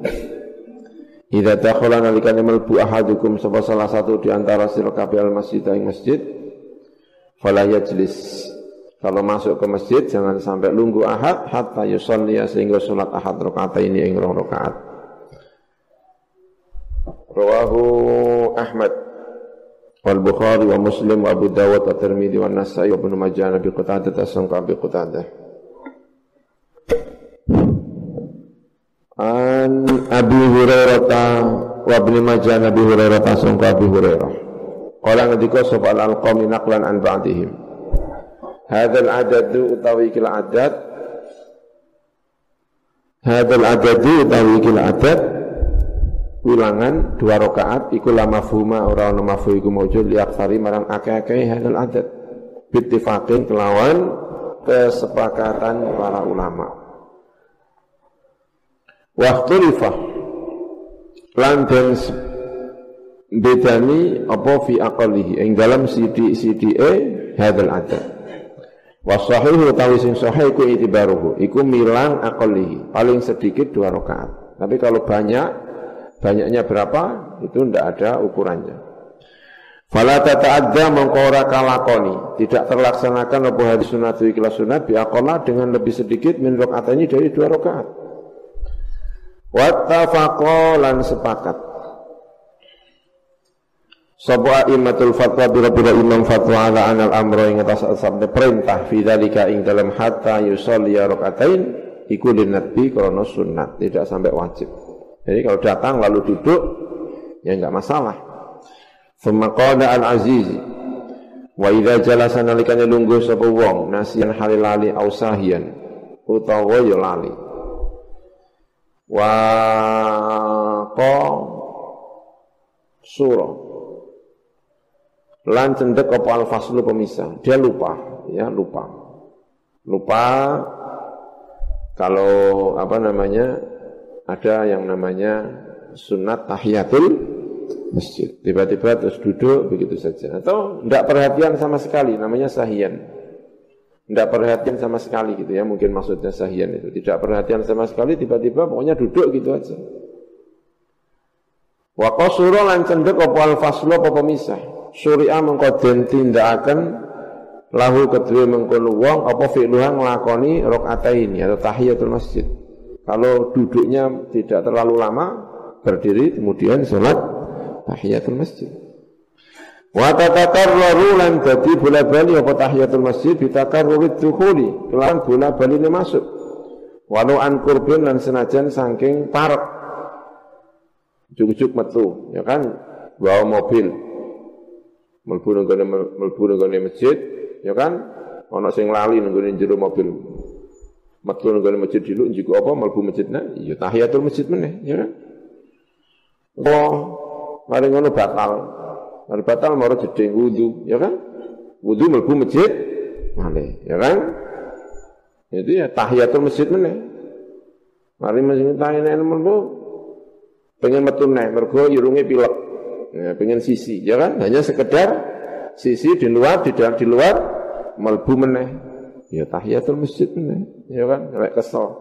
idza dakhala nalikane mlebu ahadukum sapa salah satu di antara sira kabeh al masjid ing masjid fala yajlis. Kalau masuk ke masjid jangan sampai lunggu ahad hatta yusalli sehingga salat ahad rakaat ini ing rong rakaat. Rawahu Ahmad wal Bukhari wa Muslim wa Abu Dawud wa Tirmidzi wa Nasa'i wa Ibnu Majah Nabi Qatadah tasangka Abi Qatadah. An Abi Hurairah wa Ibnu Majah Nabi Hurairah tasangka Abi Hurairah. Qala ngendika sapa al-qawmi naqlan an ba'dihim. Hadzal adadu utawi kil adad. Hadzal adadu utawi kil adad. Ulangan dua rakaat iku la mafhuma ora ana mafhum iku maujud li aktsari marang akeh-akeh hadal adat bittifaqin kelawan kesepakatan para ulama. Waqtulifa lan den bedani apa fi aqalihi ing dalam sithik-sithike hadal adat. Wa sahih utawi sing sahih iku itibaruhu iku milang aqalihi paling sedikit dua rakaat. Tapi kalau banyak banyaknya berapa itu tidak ada ukurannya. Fala tata'adda mongko ora kalakoni, tidak terlaksanakan apa hadis sunat ikhla sunat biaqalla dengan lebih sedikit min rakaatnya dari dua rakaat. Wattafaqo lan sepakat. Sapa imatul fatwa bila-bila imam fatwa ala anal amro ing atas sabda perintah fi dzalika ing dalam hatta yusolli rakaatain iku linnabi krana sunat, tidak sampai wajib. Jadi kalau datang lalu duduk, ya enggak masalah. Tsumma qala al-aziz wa idza jalasa nalikane lungguh sapa wong nasiyan halilali au sahiyan utawa ya lali. Wa qa surah lan cendek apa al-faslu pemisah. Dia lupa, ya lupa. Lupa kalau apa namanya? Ada yang namanya sunat tahiyatul masjid. Tiba-tiba terus duduk begitu saja. Atau tidak perhatian sama sekali, namanya sahiyan. Tidak perhatian sama sekali gitu ya, mungkin maksudnya sahiyan itu. Tidak perhatian sama sekali, tiba-tiba pokoknya duduk gitu aja. Wa qasura lan cendek apa al-faslu apa pemisah. Syuri'a mengko den tindakaken lahu kedue mengkono wong apa fi'luha nglakoni rakaataini atau tahiyatul masjid. Kalau duduknya tidak terlalu lama, berdiri kemudian salat tahiyatul masjid. Wa tatakarraru lan dadi bola-bali apa tahiyatul masjid bitakarrurid dukhuli, kelan bola-bali masuk. Walau an qurbin lan senajan saking parek. Juk-juk metu, ya kan, bawa mobil. Mlebu nang mlebu nang masjid, ya kan, ana sing lali nang jero mobil. Metu nang masjid dulu njuk apa mlebu masjidna ya tahiyatul masjid meneh ya kan. Oh, mari ngono batal. Mari batal maro jeding wudu ya kan. Wudu mlebu masjid meneh ya kan. Itu ya tahiyatul masjid meneh. Mari masjid tahiyat mlebu pengen metu neh mergo irunge pilek. Ya pengen sisi ya kan hanya sekedar sisi di luar di dalam di luar mlebu meneh. Ya tahiyatul masjid meneh, ya kan, rek kesel.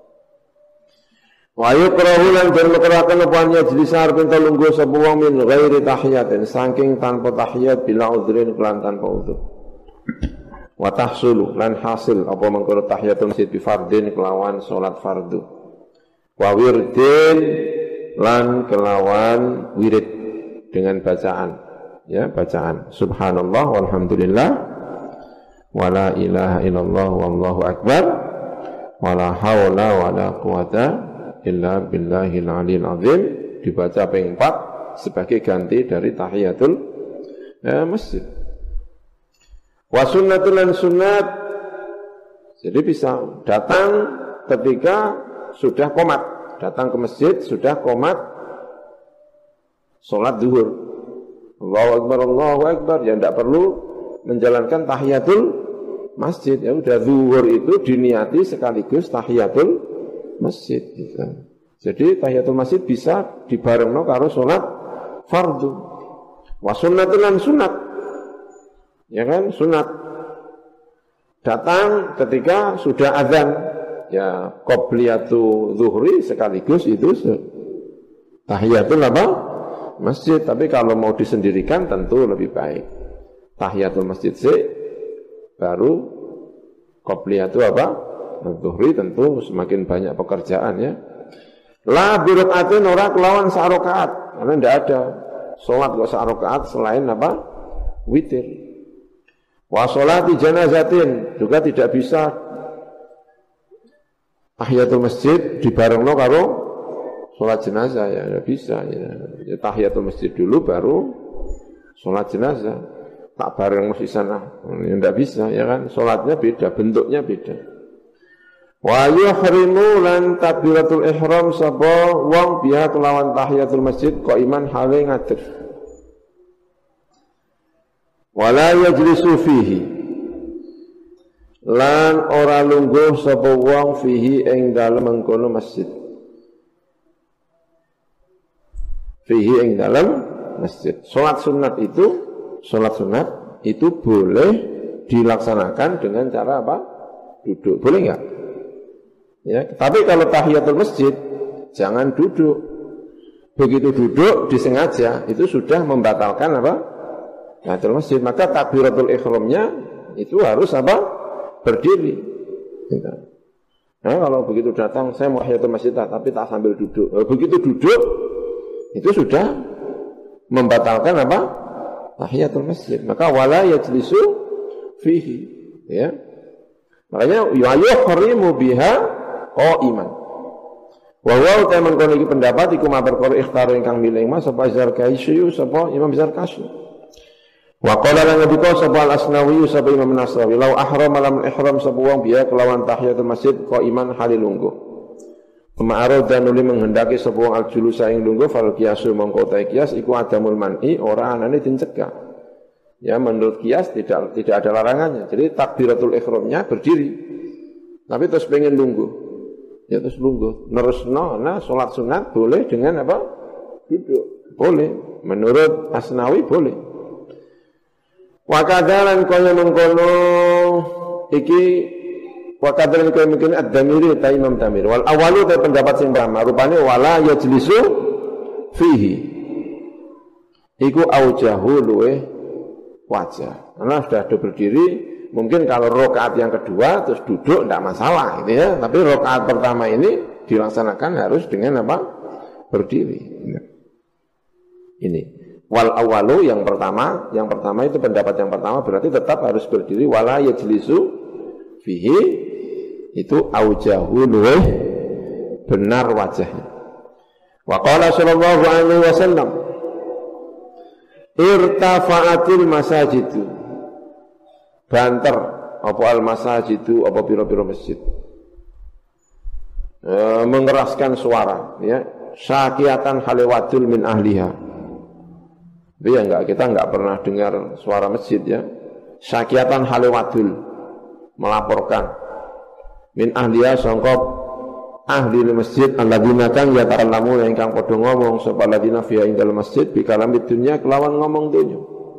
Wa yukrahu lan den makruhaken apa majlis arep lungguh sapa wong min ghairi tahiyatin saking tanpa tahiyat bila udhrin kelan tanpa udhur. Wa tahsulu lan hasil apa mengkono tahiyatul masjid bi fardhin kelawan salat fardu. Wa wirdin lan kelawan wirid dengan bacaan, ya bacaan subhanallah walhamdulillah wala ilaha illallah wallahu akbar wala haula wala quwata illa billahil aliyil azim dibaca ping empat sebagai ganti dari tahiyatul eh, masjid. Wa sunnatul lan sunnat, jadi bisa datang ketika sudah qomat, datang ke masjid sudah qomat salat zuhur. Allahu akbar Allahu akbar, ya tidak perlu menjalankan tahiyatul masjid, ya udah zuhur itu diniati sekaligus tahiyatul masjid gitu. Jadi tahiyatul masjid bisa dibarengno karo salat fardu. Wa sunnatul lan sunat, ya kan, sunat datang ketika sudah azan, ya qobliyatu zuhri sekaligus itu tahiyatul apa masjid. Tapi kalau mau disendirikan tentu lebih baik tahiyatul masjid sih, baru qobliyatu apa? Zuhri, tentu semakin banyak pekerjaan ya. La birokaatin ora kelawan sa'rokaat, karena tidak ada sholat kok sa'rokaat selain apa? witir. Wa sholati janazatin juga tidak bisa tahiyatul masjid dibarengno karo sholat jenazah ya, tidak bisa ya. Ya, tahiyatul masjid dulu baru sholat jenazah. Tak bareng mesti sana, ya tidak bisa ya kan? Sholatnya beda, bentuknya beda. Wa yuhrimu lan takbiratul ihram sapa wong biha kelawan tahiyatul masjid qaiman hale ngadeg. Wala yajlisu fihi lan ora lungguh sapa wong fihi ing dalem mengkono masjid. Fihi ing dalem masjid. Salat sunat itu, salat sunat itu boleh dilaksanakan dengan cara apa? Duduk. Boleh enggak? Ya, tapi kalau tahiyatul masjid jangan duduk. Begitu duduk disengaja itu sudah membatalkan apa? Tahiyatul masjid. Maka takbiratul ihramnya itu harus apa? Berdiri. Gitu. Nah, kalau begitu datang saya mau tahiyatul masjid tapi tak sambil duduk. Begitu duduk itu sudah membatalkan apa? Tahiyatul masjid. Maka wala yajlisu fihi. Ya. Makanya yuhrimu biha qaiman. Wa wa ta man kono iki pendapat iku ma perkara ikhtar ingkang milih mas sapa Zarkashi sapa Imam Zarkashi. Wa qala lan nabika sapa Al-Asnawi sapa Imam Nasrawi law ahram lam ihram sapa wong biya kelawan tahiyatul masjid qaiman halil lungguh. Ma'arad dan nuli menghendaki sapa wong al-julusa ing lungguh fal qiyasu mongko ta qiyas iku adamul man'i ora anane dincegah. Ya menurut qiyas tidak tidak ada larangannya. Jadi takbiratul ihramnya berdiri. Tapi terus pengen lungguh. Ya terus lungguh. Nerusno, nah sholat sunat boleh dengan apa? Duduk. Boleh. Menurut Asnawi boleh. Wakadalan kaya mengkono iki wakadalan kaya mungkin ad-damiri ta Imam Damir. Wal awalu ta pendapat sing pertama rupane wala yajlisu fihi. Iku aujahu luwe wajah. Karena sudah ada berdiri. Mungkin kalau rakaat yang kedua terus duduk tidak masalah gitu ya. Tapi rakaat pertama ini dilaksanakan harus dengan apa? Berdiri. Ini wal awalu yang pertama, yang pertama itu pendapat yang pertama berarti tetap harus berdiri wala yajlisu fihi itu aujahu luweh benar wajahnya. Wa qala sallallahu alaihi wasallam irtafa'atil masajidu banter apa al-masajidu apa pira-pira masjid e, mengeraskan suara ya syakiatan halewadul min ahliha. Tapi ya enggak, kita enggak pernah dengar suara masjid ya. Syakiatan halewadul melaporkan min ahliha sangka ahli masjid alladzina kang yatakallamu ingkang padha ngomong sapa alladzina fi indal masjid bi kalamid dunya kelawan ngomong dunya.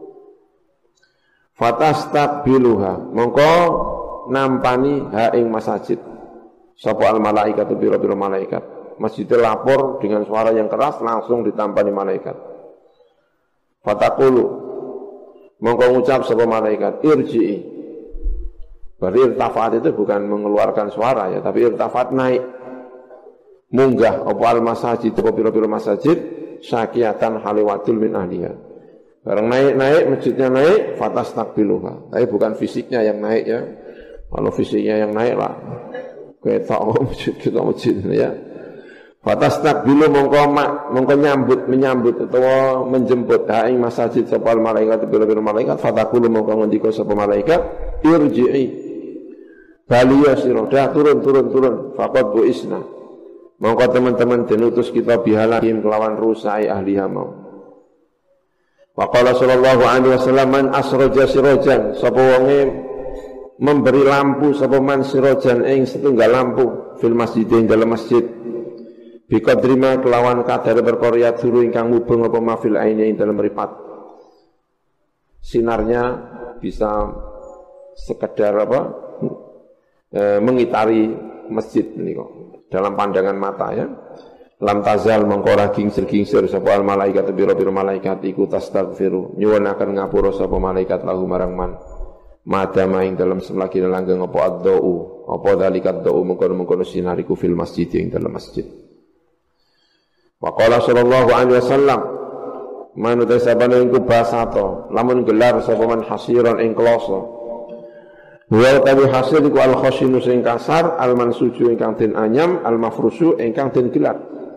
Fatastaqbiluha mongko nampani ha ing masjid sapa al malaikatu biro-biro malaikat. Masjidil lapor dengan suara yang keras langsung ditampani malaikat. Fataqulu mongko ngucap sapa malaikat irji'i. Berarti irtafat itu bukan mengeluarkan suara ya, tapi irtafat naik munggah apa al masjid apa biro-biro masjid syakiatan haliwatul min ahliha. Barang naik-naik, masjidnya naik, fatas takbiluha. Tapi bukan fisiknya yang naik ya. Kalau fisiknya yang naik lah. Kita masjid, kita masjid ya. Fatas takbilu mongko mak, mongko nyambut, menyambut atau menjemput haing masjid sapa malaikat bila-bila malaikat fatakulu mongko ngendika sapa malaikat irji'i. Baliya sira dah turun turun turun faqad bu isna. Mongko teman-teman dinutus kita bihalahim kelawan rusai ahli hamau. Waqala sallallahu alaihi wasallam man asraja sirajan sapa wonge memberi lampu sapa man sirajan ing setunggal lampu fil masjid ing dalam masjid biqadrima kelawan kadar perkara dulu ingkang mubeng apa mafil aine ing dalam mripat sinarnya bisa sekedar apa e, mengitari masjid menika dalam pandangan mata ya. Lam tazal mengkora gingsir-gingsir sapa al malaikat biro-biro malaikat iku tastaghfiru nyuwun akan ngapura sapa malaikat lahu marang man madama ing dalam selagi langgeng apa ad-dau apa dalikat dau mengkono-mengkono sinariku fil masjid ing dalam masjid. Wa qala sallallahu alaihi wasallam manut sabane iku basato lamun gelar sapa man hasiron ing kloso wa tawi hasil iku al khashinu sing kasar al mansuju ingkang den anyam al mafrusu ingkang den gelar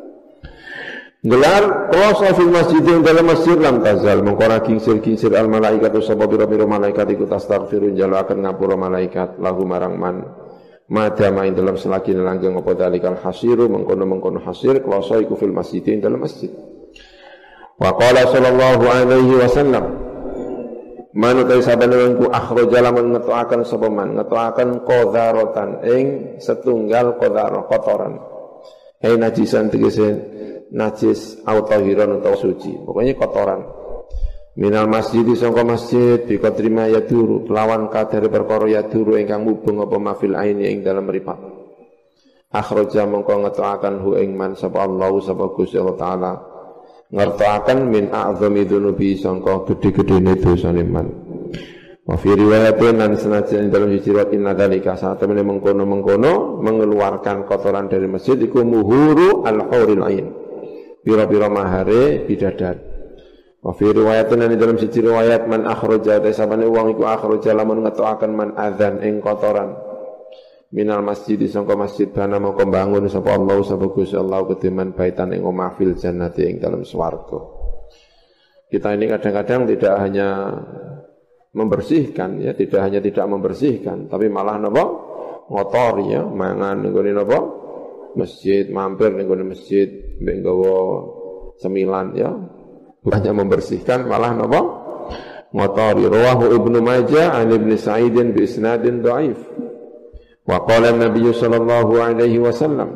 gelar kloso fil masjid ing dalam masjid lam tazal mengkora kingsir-kingsir al malaikatu sapa pira-pira malaikat iku tastaghfirun jalo akan ngapura malaikat lahu marang man madama ing dalam selagi langgeng apa dalikal hasiru mengkono-mengkono hasir kloso iku fil masjid ing dalam masjid. Wa qala sallallahu alaihi wasallam manut sabana ku akhraja lamun ngetoaken sapa man ngetoaken qadharatan ing setunggal qadhar kotoran hai najisan tegese najis au tahiran utawa suci pokoknya kotoran minal masjid sangka masjid bi qadrima yaduru kelawan kadare perkara yaduru ingkang mubeng apa mafil aini ing dalem mripat akhraja mongko ngetoaken hu ing man sapa Allah sapa Gusti Allah taala ngertakan min a'zami dzunubi sangka gedhe-gedhene dosane man. Wa fi riwayatin lan senajan dalam riwayat inna dzalika saat temene mengkono-mengkono mengeluarkan kotoran dari masjid iku muhuru al-huril ain. Pira-pira mahare bidadari. Wa fi riwayatin lan dalam siji riwayat man akhraja tasabane wong iku akhraja lamun ngetokaken man adzan ing kotoran. Minal masjid sangka masjid bana mongko bangun sapa Allah sapa Gusti Allah kediman baitan ing omah fil jannati ing dalam swarga. Kita ini kadang-kadang tidak hanya membersihkan ya, tidak hanya tidak membersihkan, tapi malah napa? Ngotori ya, mangan ning gone napa? Masjid, mampir ning gone masjid, mbek nggawa cemilan ya. Bukannya membersihkan malah napa? Ngotori. Rawahu Ibnu Majah an Ibnu Sa'idin bi isnadin dhaif. Wa qala an-nabiy sallallahu alaihi wasallam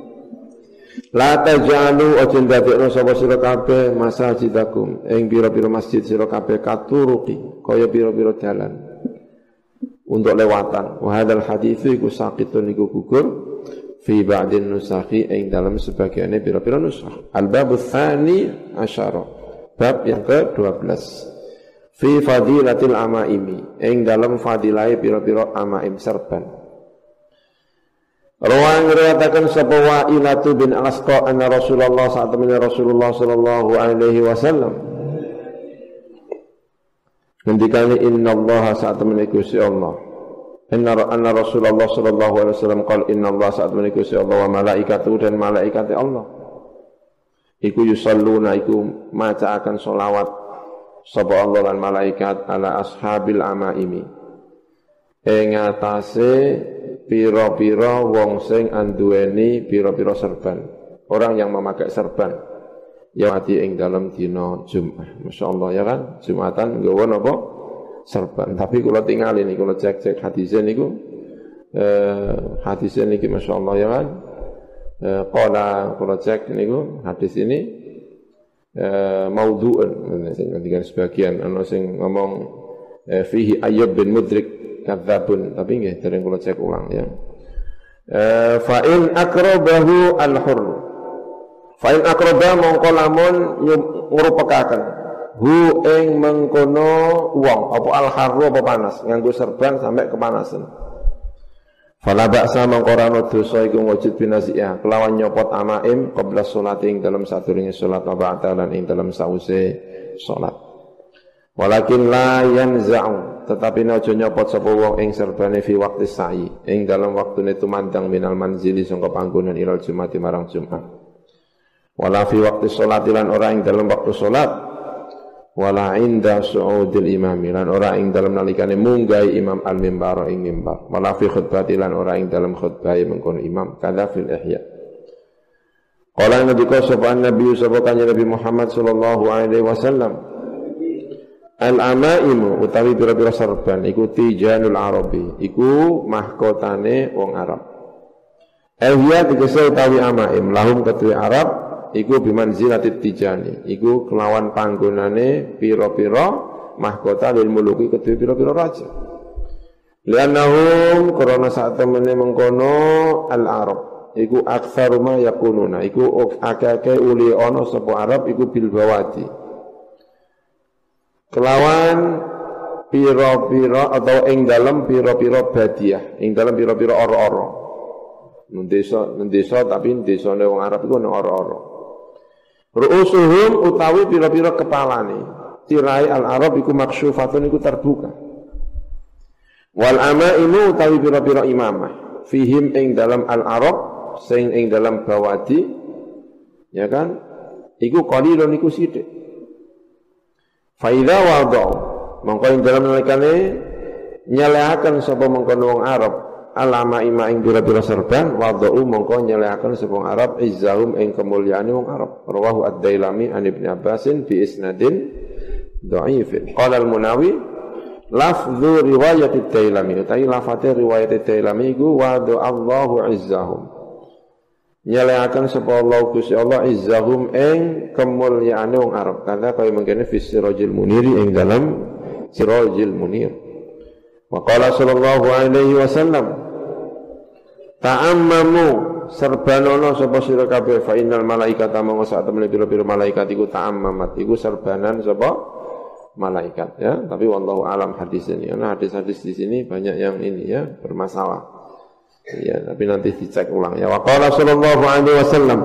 la taj'alu ajin dadekno sapa sira kabeh masajidakum ing pira-pira masjid sira kabeh katuruqi kaya pira-pira dalan untuk lewatan wa hadzal hadits iku saqitun iku gugur fi ba'din nusakhi ing dalam sebagiannya pira-pira nusakh al-bab tsani asyara bab yang ke dua belas fi fadilatil amaimi ing dalam fadilah pira-pira amaim serban. Rawang riwayataken sapa Wa'ilatu bin Al-Asqa anna Rasulullah saat temene Rasulullah sallallahu alaihi wasallam ngendikane innallaha saat temene Gusti Allah inna anna Rasulullah sallallahu alaihi wasallam qala innallaha saat temene Gusti Allah wa malaikatu dan malaikate Allah iku yusalluna iku maca akan selawat sapa Allah lan malaikat ala ashabil amaimi ing atase pira-pira wong sing anduweni pira-pira serban, orang yang memakai serban ya mati ing dalam dina Jumat. Masyaallah ya kan, Jumatan nggawa napa? Serban. Tapi kula tingali niku kula cek-cek hadise niku eh hadise niki masyaallah ya kan. Eh qala kula cek niku hadis ini eh maudhu'un sing ngendikan sebagian ana sing ngomong eh, fihi Ayyub bin Mudrik kadzabun tapi nggih dereng kula cek ulang ya. Eh fa in akrabahu al-hurr. Fa in akraba mongko lamun ngurupekaken hu ing mengkono wong apa al-harru apa panas nganggo serban sampai kepanasan. Fala ba'sa mongko ora ana dosa iku wujud binasiah kelawan nyopot amaim qabla sholati ing dalam sadurunge salat wa ba'da lan ing dalam sause salat. Walakin la yanza'u tetapi aja nyopot sapa wong ing serbane fi waqti sa'i ing dalam waktune tumandang minal manzili sangka panggonan ilal jumati marang Jumat. Wala fi waqti sholati lan ora ing dalam waktu salat wala inda su'udil imam lan ora ing dalam nalikane munggahi imam al-mimbar ing mimbar wala fi khutbati lan ora ing dalam khutbah mengkono imam kadza fil ihya. Qala nabi sapa nabi sapa kanjeng Nabi Muhammad sallallahu alaihi wasallam al-amaimu utawi pira-pira serban iku tijanul arabi iku mahkotane wong Arab. Ehya tegese utawi amaim lahum ketui Arab iku bimanzilatit tijani iku kelawan panggonane pira-pira mahkota lil muluki ketui pira-pira raja. Liannahum karena saat temene mengkono al-arab iku aktsaru ma yakununa iku akeh-akeh uli ana sapa Arab iku bil bawati kelawan pira-pira atau ing dalam pira-pira badiah, ing dalam pira-pira ora-ora. Nang desa, nang desa tapi desane wong Arab iku nang ora-ora. Ru'usuhum utawi pira-pira kepalane. Tirai al-Arab iku maksyufatun iku terbuka. Wal amaimu utawi pira-pira imamah. Fihim ing dalam al-Arab sing ing dalam bawadi, ya kan? Iku qalilun iku sithik. Fa idza wada'u mongko ing dalam nalikane nyelehaken sapa mengkono wong Arab alama ima ing pira-pira serban wada'u mongko nyelehaken sapa wong Arab izzahum ing kemuliaane wong Arab. Rawahu ad-Dailami an Ibnu Abbasin bi isnadin dhaifin. Qala al-Munawi lafdhu riwayat ad-Dailami utawi lafate riwayat ad-Dailami iku wada'allahu izzahum. Nyelehaken sapa Allah Gusti Allah izzahum ing kemuliaane wong Arab. Karena kaya mengkene fi sirajil muniri ing dalam sirajil munir. Wa qala sallallahu alaihi wasallam ta'ammamu serbanono sapa sira kabeh fa innal malaikata mongko sak temene pira-pira malaikat iku ta'ammamat iku serbanan sapa malaikat ya. Tapi wallahu alam hadis ini karena hadis-hadis di sini banyak yang ini ya bermasalah. Ya, tapi nanti dicek ulang ya. Wa qala sallallahu alaihi wasallam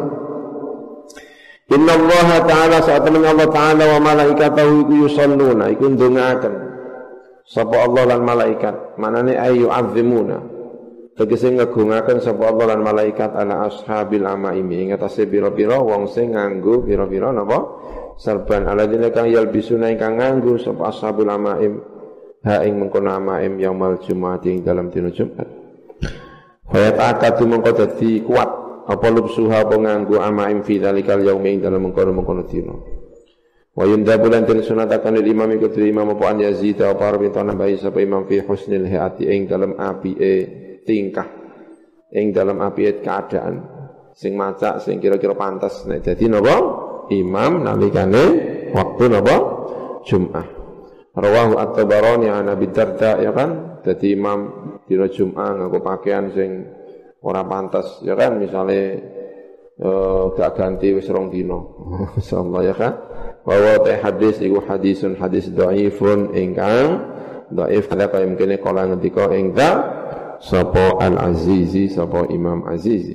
inna Allah ta'ala saat temen Allah ta'ala wa malaikatahu iku yusalluna iku ndongaaken sapa Allah lan malaikat manane ayu azimuna tegese ngegungaken sapa Allah lan malaikat ala ashabil amaimi ing atase pira-pira wong sing nganggo pira-pira napa serban aladine kang yalbisuna ingkang nganggo sapa ashabul amaim ha ing mengkono amaim yaumul jumat ing dalam dina Jumat. Fayat akadu mengko dadi kuat apa lubsuha apa nganggo amaim fi dzalikal yaumi ing dalam mengkono-mengkono dina. Wa yundabu lan den sunatakan lil imam iku imam apa an Yazid apa arep nambahi sapa imam fi husnil hayati ing dalam apike tingkah ing dalam apike keadaan sing macak sing kira-kira pantas nek dadi napa imam nalikane waktu napa Jumat. Rawahu at-Tabarani an Abi Darda ya kan dadi imam dina Jumat nganggo pakaian sing ora pantas ya kan misale uh, gak ganti wis rong dina insyaallah ya kan bahwa teh hadis iku hadisun hadis dhaifun ingkang dhaif ada kaya mungkin kala ngendika ing dza sapa al-Azizi sapa Imam Azizi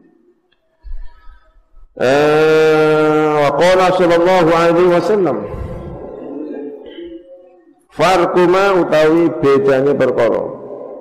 eh wa qala sallallahu alaihi wasallam farquma utawi bedane perkara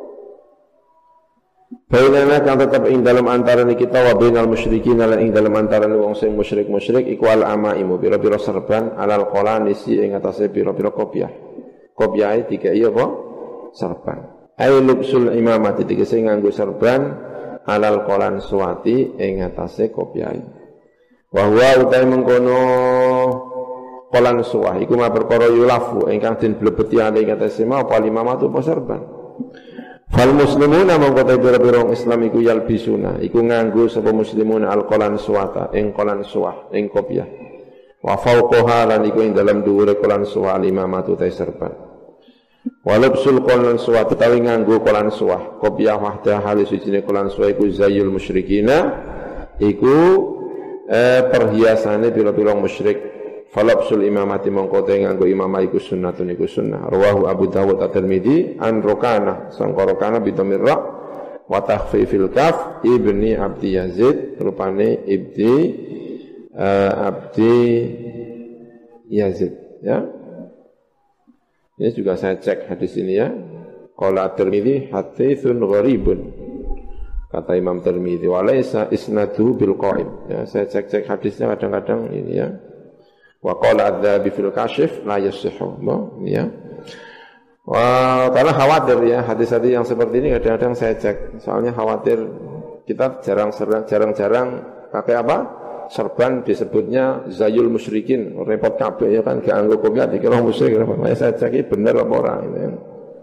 bainana kang tetep ing dalam antarané kita wa bainal musyrikin lan ing dalam antarané wong sing musyrik-musyrik iku al amaimu pira-pira serban alal qalanisi ing atase pira-pira kopiah. Kopiahe dikai apa? Serban. Ai lubsul imamati tegese nganggo serban alal qalan suwati ing atase kopiahe. Wa huwa utai mengkono qalan suwah iku ma perkara yulafu ingkang den blebeti ing atase ma apa limamatu apa serban. Fal muslimuna mongko pira-pira Islam iku yalbisuna iku nganggo sapa muslimuna alqalan suwata ing qalan suwah ing kopiah wa fauqaha lan iku ing dalam dhuwure qalan suwah limamatu ta serban walabsul qalan suwah utawi nganggo qalan suwah kopiah wahdah halis sijine qalan suwah iku zayyul musyrikina iku eh, perhiasane pira-pira musyrik falabsul imamati mongko te nganggo imamah iku sunnatun iku sunnah. Rawahu Abu Dawud at-Tirmidzi an Rukana sangka Rukana bi dhamirra wa takhfifil kaf ibni Abdi Yazid rupane ibni uh, Abdi Yazid ya. Ini juga saya cek hadis ini ya. Qala at-Tirmidzi haditsun gharibun. Kata Imam Tirmidzi wa laisa isnaduhu bil qa'im. Ya, saya cek-cek hadisnya kadang-kadang ini ya. Wa qala adzabi fil kashif la yasihhu ya. Wah, karena khawatir ya hadis-hadis yang seperti ini kadang-kadang saya cek. Soalnya khawatir kita jarang-jarang pakai apa? Serban disebutnya zayul musyrikin, repot kabeh ya kan gak anggo kopiah dikira musyrik. Makanya saya cek iki bener apa ora gitu ya.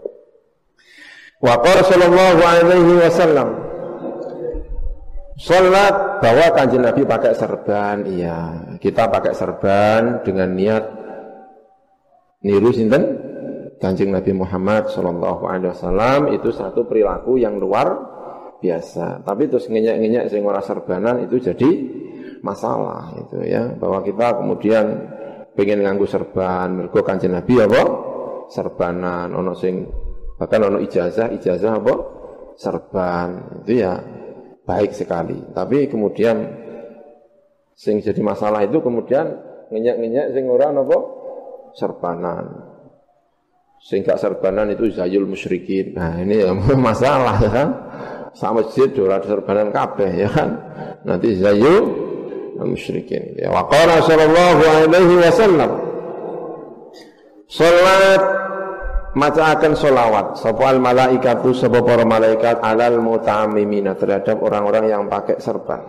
Wa qala sallallahu alaihi wasallam salat bahwa Kanjeng Nabi pakai serban, iya. Kita pakai serban dengan niat niru sinten? Kanjeng Nabi Muhammad sallallahu alaihi wasallam itu satu perilaku yang luar biasa. Tapi terus ngenyek-ngenyek sing ora serbanan itu jadi masalah itu ya. Bahwa kita kemudian pengen nganggo serban, mergo Kanjeng Nabi apa? Serbanan, ono sing bahkan ono ijazah, ijazah apa? Serban. Itu ya baik sekali, tapi kemudian Sing jadi masalah itu kemudian ngenyek-ngenyek sing ora napa serbanan. Sing gak serbanan itu zayul musyrikin. Nah, ini ya masalah ya kan. Sama masjid ora serbanan kabeh ya kan. Nanti zayul musyrikin. Ya wa qala sallallahu alaihi wasallam. Salat macaaken selawat sapa al malaikatu sapa para malaikat alal muta'ammimina terhadap orang-orang yang pakai serban.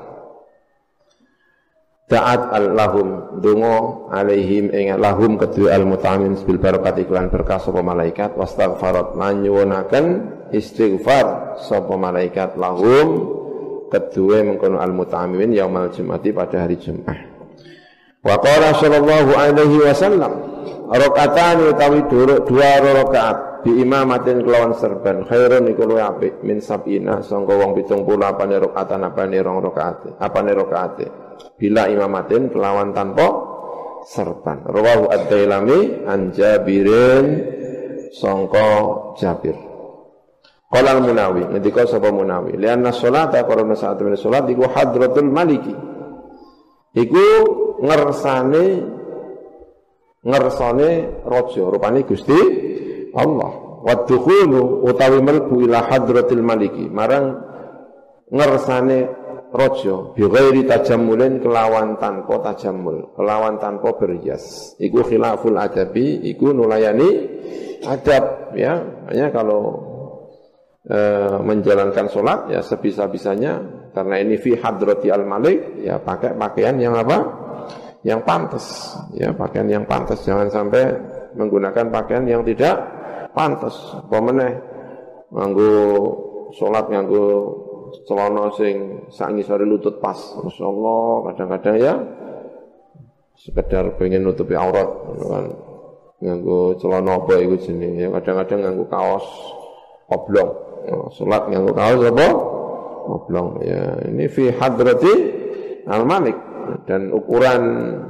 Ta'at al-lahum dungo alaihim ing lahum kedua al-muta'amim bil barakat iklan berkah sapa malaikat wastaghfarat lan nyuwunaken istighfar sapa malaikat lahum kedua mengkono al-muta'amimin yaumal jumati pada hari Jumat. Wa qala sallallahu alaihi wasallam rakaatan utawi dua rakaat bi imamatin kelawan serban khairun iku luwih apik min sab'ina sangka wong pitung puluh apane rakaatan apane rong rakaat apane rakaat bila imamatin kelawan tanpa serban. Rawahu ad-Dailami an Jabirin sangka Jabir. Qala al-Munawi ngendika sapa Munawi lianna sholata karena saat menawa salat iku hadratul maliki iku ngersane ngersane raja rupane Gusti Allah wa dukhulu utawi melbu ila hadratil maliki marang ngersane raja bi ghairi tajammulin kelawan tanpa tajammul kelawan tanpa berhias iku khilaful adabi iku nulayani adab ya makanya kalau e, menjalankan sholat ya sebisa-bisanya karena ini fi hadrati al malik ya pakai pakaian yang apa yang pantas ya pakaian yang pantas jangan sampai menggunakan pakaian yang tidak pantas apa meneh nganggo salat nganggo celana sing sak ngisore lutut pas masyaallah kadang-kadang ya sekedar pengen nutupi aurat kan nganggo celana apa iku jenenge ya kadang-kadang nganggo kaos oblong nah, salat nganggo kaos apa oblong ya ini fi hadrati al malik dan ukuran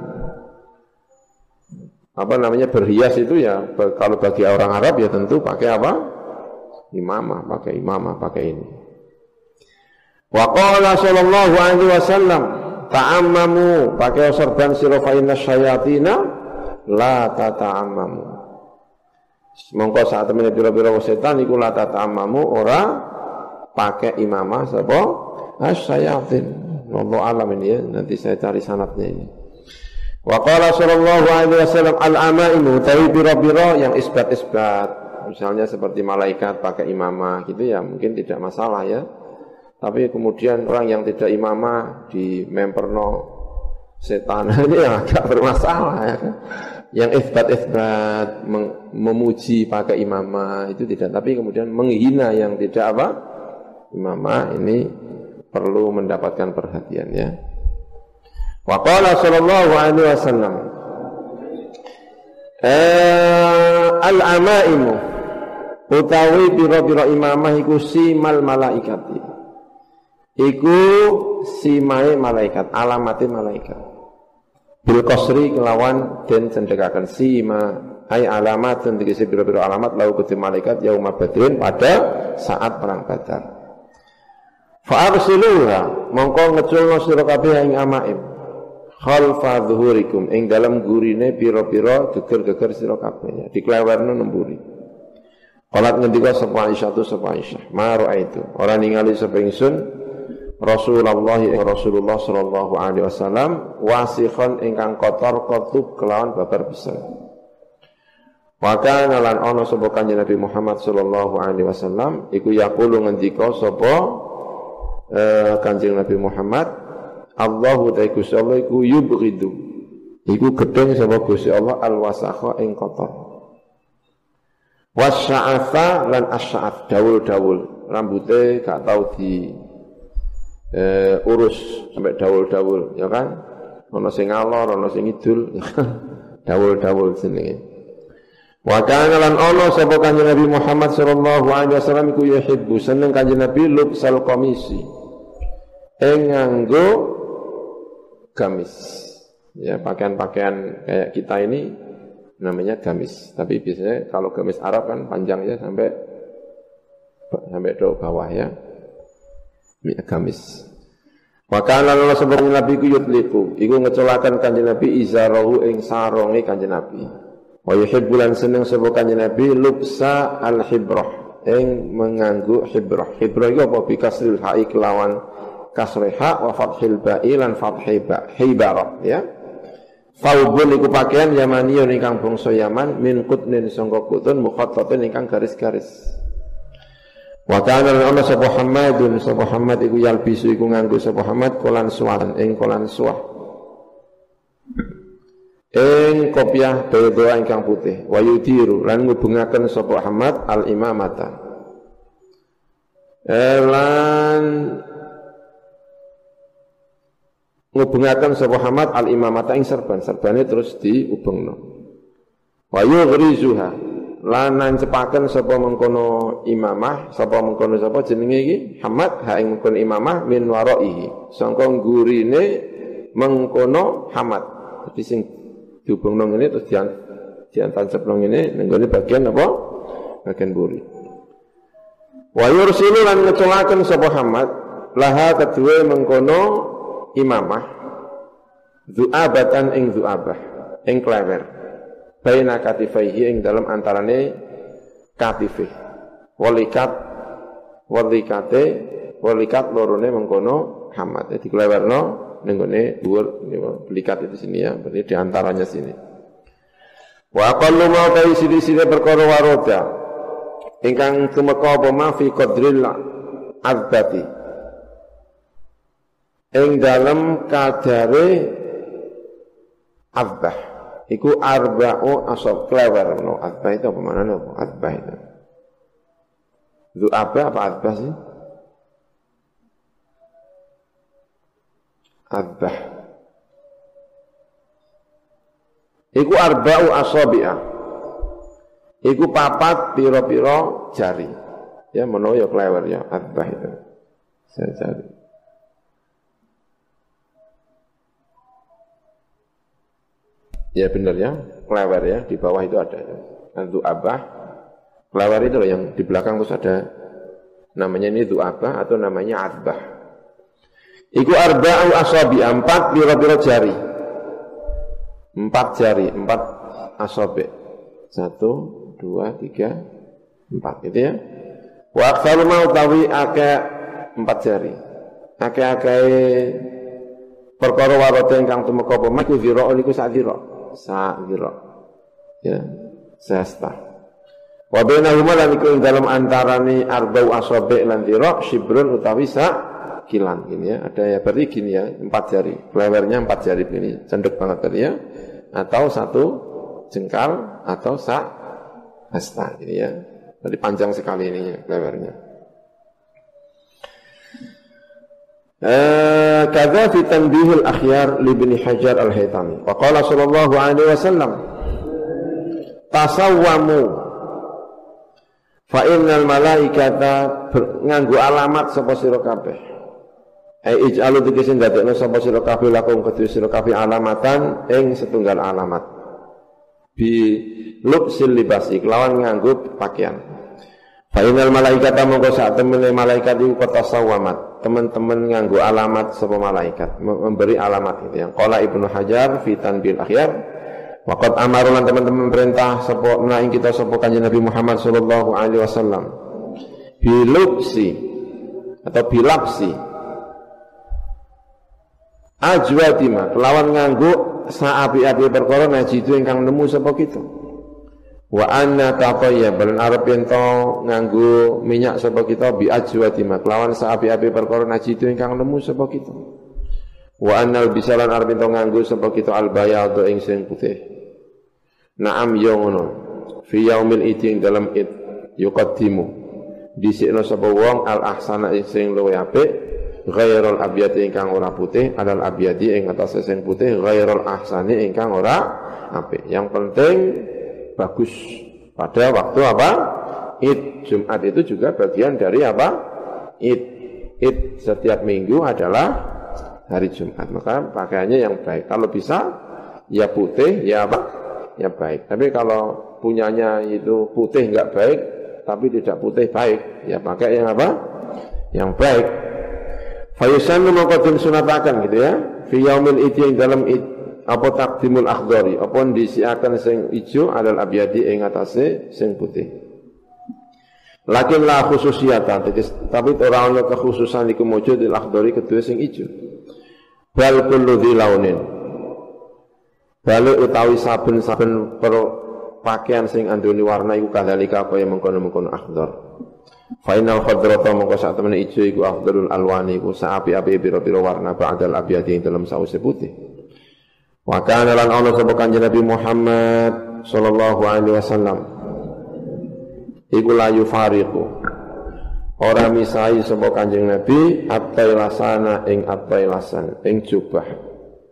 apa namanya berhias itu ya kalau bagi orang Arab ya tentu pakai apa imamah pakai imamah pakai ini. Wa qala sallallahu alaihi wasallam ta'ammamu pakai sorban sira fa inna syayatina la tata'ammamu. Mongko saat temene pira-pira setan iku la tata'ammamu ora pakai imamah sapa asyayatin. Wallahu alam ini ya, nanti saya cari sanadnya ini. Wa qala sallallahu alaihi wasallam al-amaimu tawi biro-biro yang isbat-isbat. Misalnya seperti malaikat pakai imamah gitu ya, mungkin tidak masalah ya. Tapi kemudian orang yang tidak imamah di memperno setan ini yang agak bermasalah ya. Yang isbat-isbat memuji pakai imamah itu tidak, tapi kemudian menghina yang tidak apa? Imamah ini perlu mendapatkan perhatian ya. Wa qala sallallahu alaihi wasallam al-amaimu utawi pira-pira imamah iku simal malaikati iku simae malaikat alamate malaikat bil qasri kelawan den cendhekaken sima ai alamat tegese pira-pira alamat lau kudu malaikat yauma badrin pada saat perang Badar. Fa'arsiluha mongko ngeculno sira kabeh ing amaim khalfa dhuhurikum ing dalam gurine pira-pira geger-geger sira kabeh diklewerno nemburi. Qalat ngendika sapa Aisyah tu sapa Aisyah ma raaitu ora ningali sapa ingsun Rasulullah Rasulullah sallallahu alaihi wasallam wasikhon ingkang kotor kotub kelawan babar besar. Wa kana lan ana sapa kanjeng Nabi Muhammad sallallahu alaihi wasallam iku yaqulu ngendika sapa Uh, Kanjeng Nabi Muhammad Allahu ta'ala Gusti Allah iku yubghidu iku gedeng sapa Gusti Allah al-wasakha ing kotor wasya'afa lan asy'af dawul-dawul rambute gak tau di uh, urus sampai dawul-dawul ya kan ana sing ngalor ana sing ngidul dawul-dawul jenenge wa kana lan ana sapa Kanjeng Nabi Muhammad sallallahu alaihi wasallam iku yuhibbu seneng Kanjeng Nabi lubsal qamisi nganggo gamis ya pakaian-pakaian kayak kita ini namanya gamis tapi biasanya kalau gamis Arab kan panjangnya sampai sampai do bawah ya gamis Wa kana lan sebelum Nabi ku yutliku, iku ngecolaken Kanjeng Nabi izarahu ing saronge Kanjeng Nabi. Wa yuhibbulan seneng sapa Kanjeng Nabi lubsa al-hibrah, ing menganggo hibrah. Hibrah iku apa bikasril ha'i kelawan kasrih ha wa fathil ba'i lan fathhi ba, hibarah ya. Faubun iku pakaian Yamaniyun ingkang bangsa Yaman min qutnin sangka kutun mukhattatin ingkang garis-garis. Wa kana ana sapa Muhammadun sapa Muhammad iku yalbisu iku nganggo sapa Muhammad kolan suwan ing kolan suwah ing kopiah bayda ingkang putih wa yudiru lan ngubungaken sapa Muhammad al imamata lan ngubungaken sapa Muhammad al imamata ing serban serbane terus diubengno wa yughrizuha lan nancepaken sapa mengkono imamah sapa mengkono sapa jenenge iki Muhammad ha ing mengkono imamah min waraihi sangka gurine mengkono Muhammad. Jadi sing diubungno ngene terus dian diantancapno ngene nenggone bagian apa bagian buri. Wa yursilu lan ngecolaken sapa Muhammad laha kedue mengkono imamah zu'abatan ing zu'abah ing klewer baina katifaihi ing dalam antarane katife walikat walikate walikat lorone mengkono Muhammad jadi klewerno ning gone dhuwur likat itu sini ya berarti di antaranya sini wa aqallu ma ta sini-sini perkara waroda ingkang tumeka apa ma fi qadril azbati ing dalam kadare azbah iku arba'u asab klewer no azbah itu apa maknanya apa azbah itu zu'abah apa azbah sih azbah iku arba'u asabi'ah iku papat piro-piro jari ya menawa ya klewer ya azbah itu saya cari ya benar ya, klewer ya, di bawah itu ada ya. Zu'abah, klewer itu loh yang di belakang terus ada namanya ini zu'abah atau namanya azbah. Iku arba'u asabi, empat biro-biro jari. Empat jari, empat asabi. Satu, dua, tiga, empat gitu ya. Wa aktsaru mau tawi ake empat jari. Ake-ake perkara warata ingkang tumeka apa mak zira niku sak zira. Sak zira ya sesta wa bainahuma lan iku ing dalem antarane arba'u asabi lan zira shibrun utawi sak kilan ini ya ada ya berarti gini ya empat jari klewernya empat jari ini cendek banget tadi ya atau satu jengkal atau sak hasta ini ya jadi panjang sekali ini klewernya. Uh, Kadza fi tanbihil akhyar li Ibnu Hajar al-Haytami. Wa qala sallallahu alaihi wasallam tasawwamu fa innal malaikata nganggo alamat sapa sira kabeh. Ai ij'alu tegese ndadekno sapa sira kabeh lakum kedue sira kabeh alamatan ing setunggal alamat. Bi lubsil libasi kelawan nganggo pakaian. Fa innal malaikata mongko sak temene malaikat iku tasawwamat. Teman-teman nganggo alamat sapa malaikat memberi alamat itu yang qala Ibnu Hajar fi tanbil akhyar waqad amarulan teman-teman perintah sapa menaing kita sapa kanjeng Nabi Muhammad sallallahu alaihi wasallam bilubsi atau bilapsi ajwadima kelawan nganggo saapi-api perkara najidu ingkang nemu sapa kita wa anna taqayya balan arep ento nganggo minyak sapa kita bi ajwati mak lawan saapi-api perkara najidu ingkang nemu sapa kita wa annal bisalan arep ento nganggo sapa kita al bayad ing sing putih na'am yo ngono fi yaumil idin dalam id yuqaddimu dhisikno sapa wong al ahsana sing luwih apik ghairul abyad ingkang ora putih alal abyadi ing atase sing putih ghairul ahsani ingkang ora apik yang penting bagus pada waktu apa? Id. Jumat itu juga bagian dari apa? Id. Id setiap minggu adalah hari Jumat. Maka pakaiannya yang baik. Kalau bisa ya putih, ya apa? Ya baik. Tapi kalau punyanya itu putih enggak baik, tapi tidak putih baik, ya pakai yang apa? Yang baik. Fayusannu mongko den sunataken gitu ya. Fi yaumil idi ing dalem id apa taqdimul akhdari, apa ndisiaken sing ijo alal abyadi ing atase sing putih. Lakin la khususiyata, tapi ora ana kekhususan iku mujud il akhdari kedue sing ijo. Bal kullu dzi launin. Bali utawi saben-saben pakaian sing andune warna iku kadzalika kaya mengkono-mengkono akhdar. Final khadrata mongko sak temene ijo iku afdalul alwani iku saapi-api pira-pira warna ba'dal abyadi ing dalem sause putih. Wa kana lan ana sapa Kanjeng Nabi Muhammad sallallahu alaihi wasallam iku la yufariqu ora misai sapa Kanjeng Nabi at-tailasana ing at-tailasan ing jubah.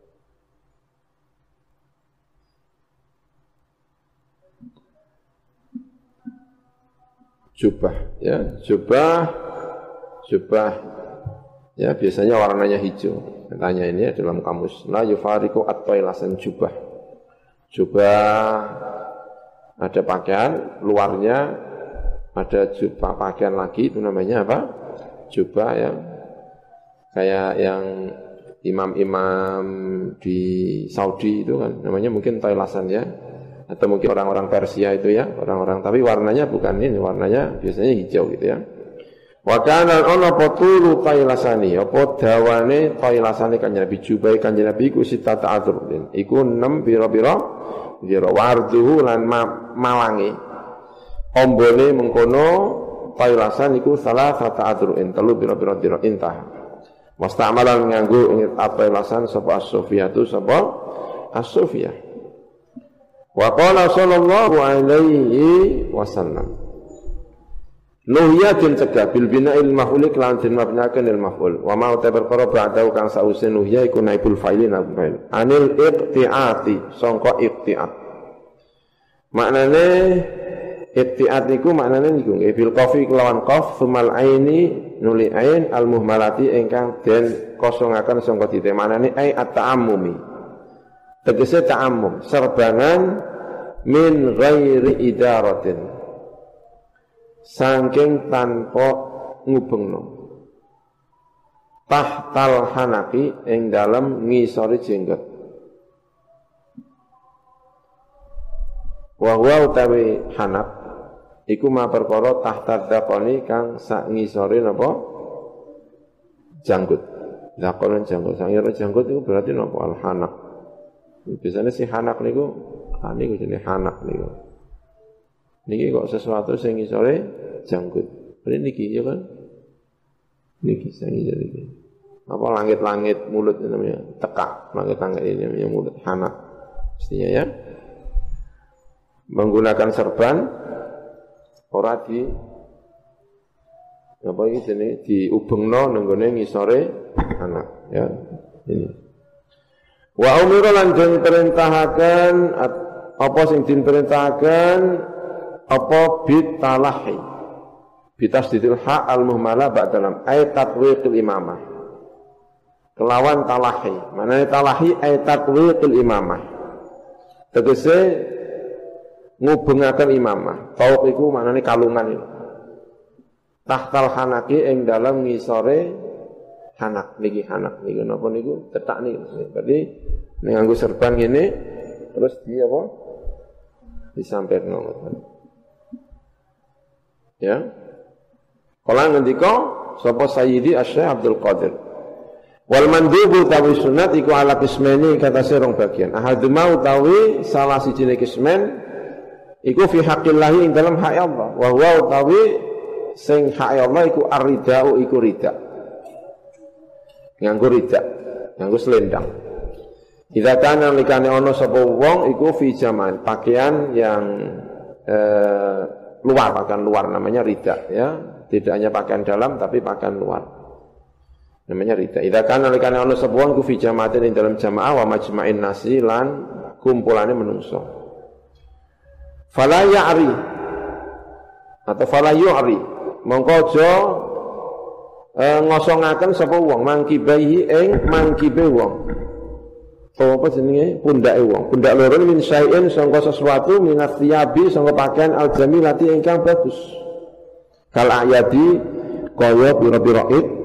Jubah ya, jubah jubah ya biasanya warnanya hijau. Tanya ini dalam kamus la yufariqu at-tailasan jubah. Jubah ada pakaian luarnya, ada jubah pakaian lagi itu namanya apa? Jubah ya. Kayak yang imam-imam di Saudi itu kan namanya mungkin tailasan ya. Atau mungkin orang-orang Persia itu ya, orang-orang tapi warnanya bukan ini, warnanya biasanya hijau gitu ya. Wa kana ana patulu tailasani, apa dawane tailasani Kanjeng Nabi jubai Kanjeng Nabi iku sitata adzrun. Iku enam pira-pira pira warduhu lan malangi. Ombone mengkono tailasan iku salah satu adzrun, telu pira-pira dira intah. Musta'malan nganggo ing tailasan sapa as-sufiyatu sapa as-sufiyah. Wa qala sallallahu alaihi wasallam nuhya den cegah bil bina'il maf'ul lan den mabnakan il maf'ul wa ma ta perkara ba'da kang sause nuhya iku naibul fa'ilin fa'il anil iqti'ati sangka iqti'at maknane iqti'at niku maknane niku nggih bil qafi kelawan qaf sumal aini nuli ain al muhmalati ingkang den kosongaken sangka dite maknane ai at-ta'ammumi tegese ta'ammum serbangan min ghairi idaratin saking tanpa ngubengno tahtal hanaki ing dalem ngisori jenggot wa huwa utawi hanak iku ma perkara tahta dakoni kang sak ngisori napa janggut dakon janggut sangira janggut itu berarti napa al hanak. Biasanya si hanak niku, ah niku jenenge hanak niku. Niki kok sesuatu sing ngisore janggut. Ini niki ya kan? Niki sing ngisore iki. Apa langit-langit mulut ini namanya tekak, langit-langit ini namanya mulut hanak. Mestinya ya. Menggunakan serban ora di apa iki jenenge diubengno nenggone ngisore anak ya. Ini wa umira lan den perintahaken apa sing diperintahaken apa bitalahi bitasdidil ha al muhmala ba'dalam ay tatwiqil imamah kelawan talahi manane talahi ay tatwiqil imamah tegese ngubengaken imamah tauq iku manane kalungan itu tahtal hanaki ing dalem ngisore hanak niki hanak niku napa niku tetak niku berarti ning nganggo serban ngene terus di apa disampirno ya kala ngendika sapa Sayyidi Asy-Syaikh Abdul Qadir wal mandubu tawi sunat iku ala qismaini kata serong bagian ahaduma utawi salah sijine qismen iku fi haqqillahi ing dalam hak Allah wa huwa utawi sing hak Allah iku ar-ridau iku rida nganggo ridak, nganggo selendang. Idza kana likane ana sapa wong iku fi jaman, pakaian yang eh, luar, pakaian luar namanya ridak ya. Tidak hanya pakaian dalam tapi pakaian luar. Namanya ridak. Idza kana likane ana sapa wong iku fi jamaatin ing dalam jamaah wa majma'in nasi lan kumpulane menungso. Fala ya'ri atau fala yu'ri mongko aja E, ngosongaken sapa wong mangkibahi ing mangkibe wong. Apa jenenge pundake wong. Pundak loro min syai'in sangka sesuatu minat thiyabi sangka pakaian al-jamilati ingkang bagus. Kal ayadi kaya pira-pira id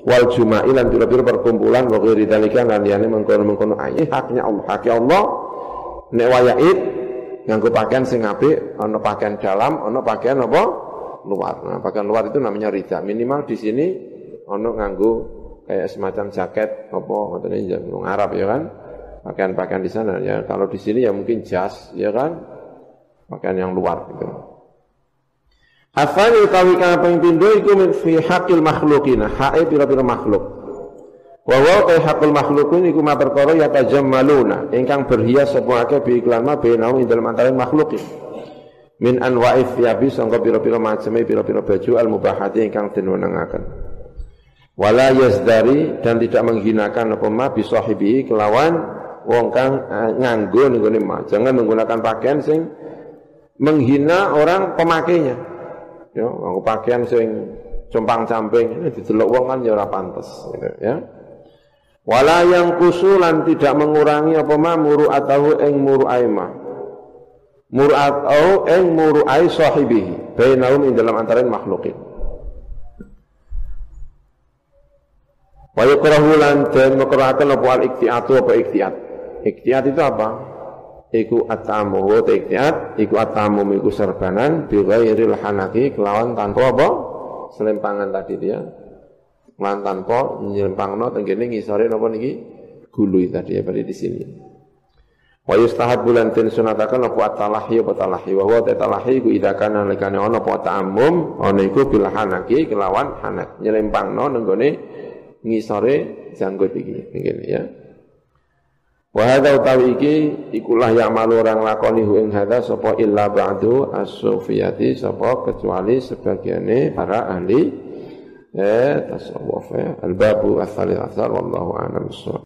wal juma'i lan pira-pira perkumpulan wa ghairi dzalika lan liyane mengkono-mengkono ayi haknya Allah hak Allah nek waya Id nganggo pakaian sing apik ana pakaian dalam ana pakaian apa luar. Nah pakaian luar itu namanya rida minimal di sini ana nganggo kayak semacam jaket apa ngoten iki wong Arab ya kan pakaian-pakaian di sana ya kalau di sini ya mungkin jas ya kan pakaian yang luar gitu. Afani utawi kang ping pindho iku min fi haqqil makhluqina, hae pira-pira makhluk. Wa wa ta haqqul makhluqin iku ma perkara ya tajammaluna, ingkang berhias sapa akeh bi iklan ma bainau ing dalem antaraning makhlukin. Min anwa'if thiyabi sangka pira-pira maceme pira-pira baju al mubahati ingkang den wenengaken. Wala yazdari dan tidak menghinakan apa ma bi sahibi kelawan wong kang nganggo ning gone ma. Jangan menggunakan pakaian sing menghina orang pemakainya. Ya, aku pakaian sing compang-camping ini didelok wong kan ya ora pantes gitu ya. Wala yang kusulan tidak mengurangi apa ma muru atau ing muru aima. Muru atau ing muru ai sahibihi bainahum ing dalam antaraning makhlukin. Wa yukrahu lan den makruhaken apa al iktiatu apa iktiat. Iktiat itu apa? Iku atamu wa iktiat, iku atamu iku serbanan bi ghairil hanaki kelawan tanpa apa? Selempangan tadi dia. Lan tanpa nyelempangno tenggene ngisore napa niki gulu tadi ya pada di sini. Wa yustahabbu lan tin sunataken apa talahi apa talahi wa huwa talahi iku idza kana lekane ana apa ta'ammum ana iku bil hanaki kelawan hanak nyelempangno nenggone ngisore janggut iki ngene ya. Wa hadza utawi iki ikulah yang malu orang lakoni hu ing hadza sapa illa ba'du as-sufiyati sapa kecuali sebagiane para ahli eh tasawuf ya al-babu ats-tsalits wallahu a'lam.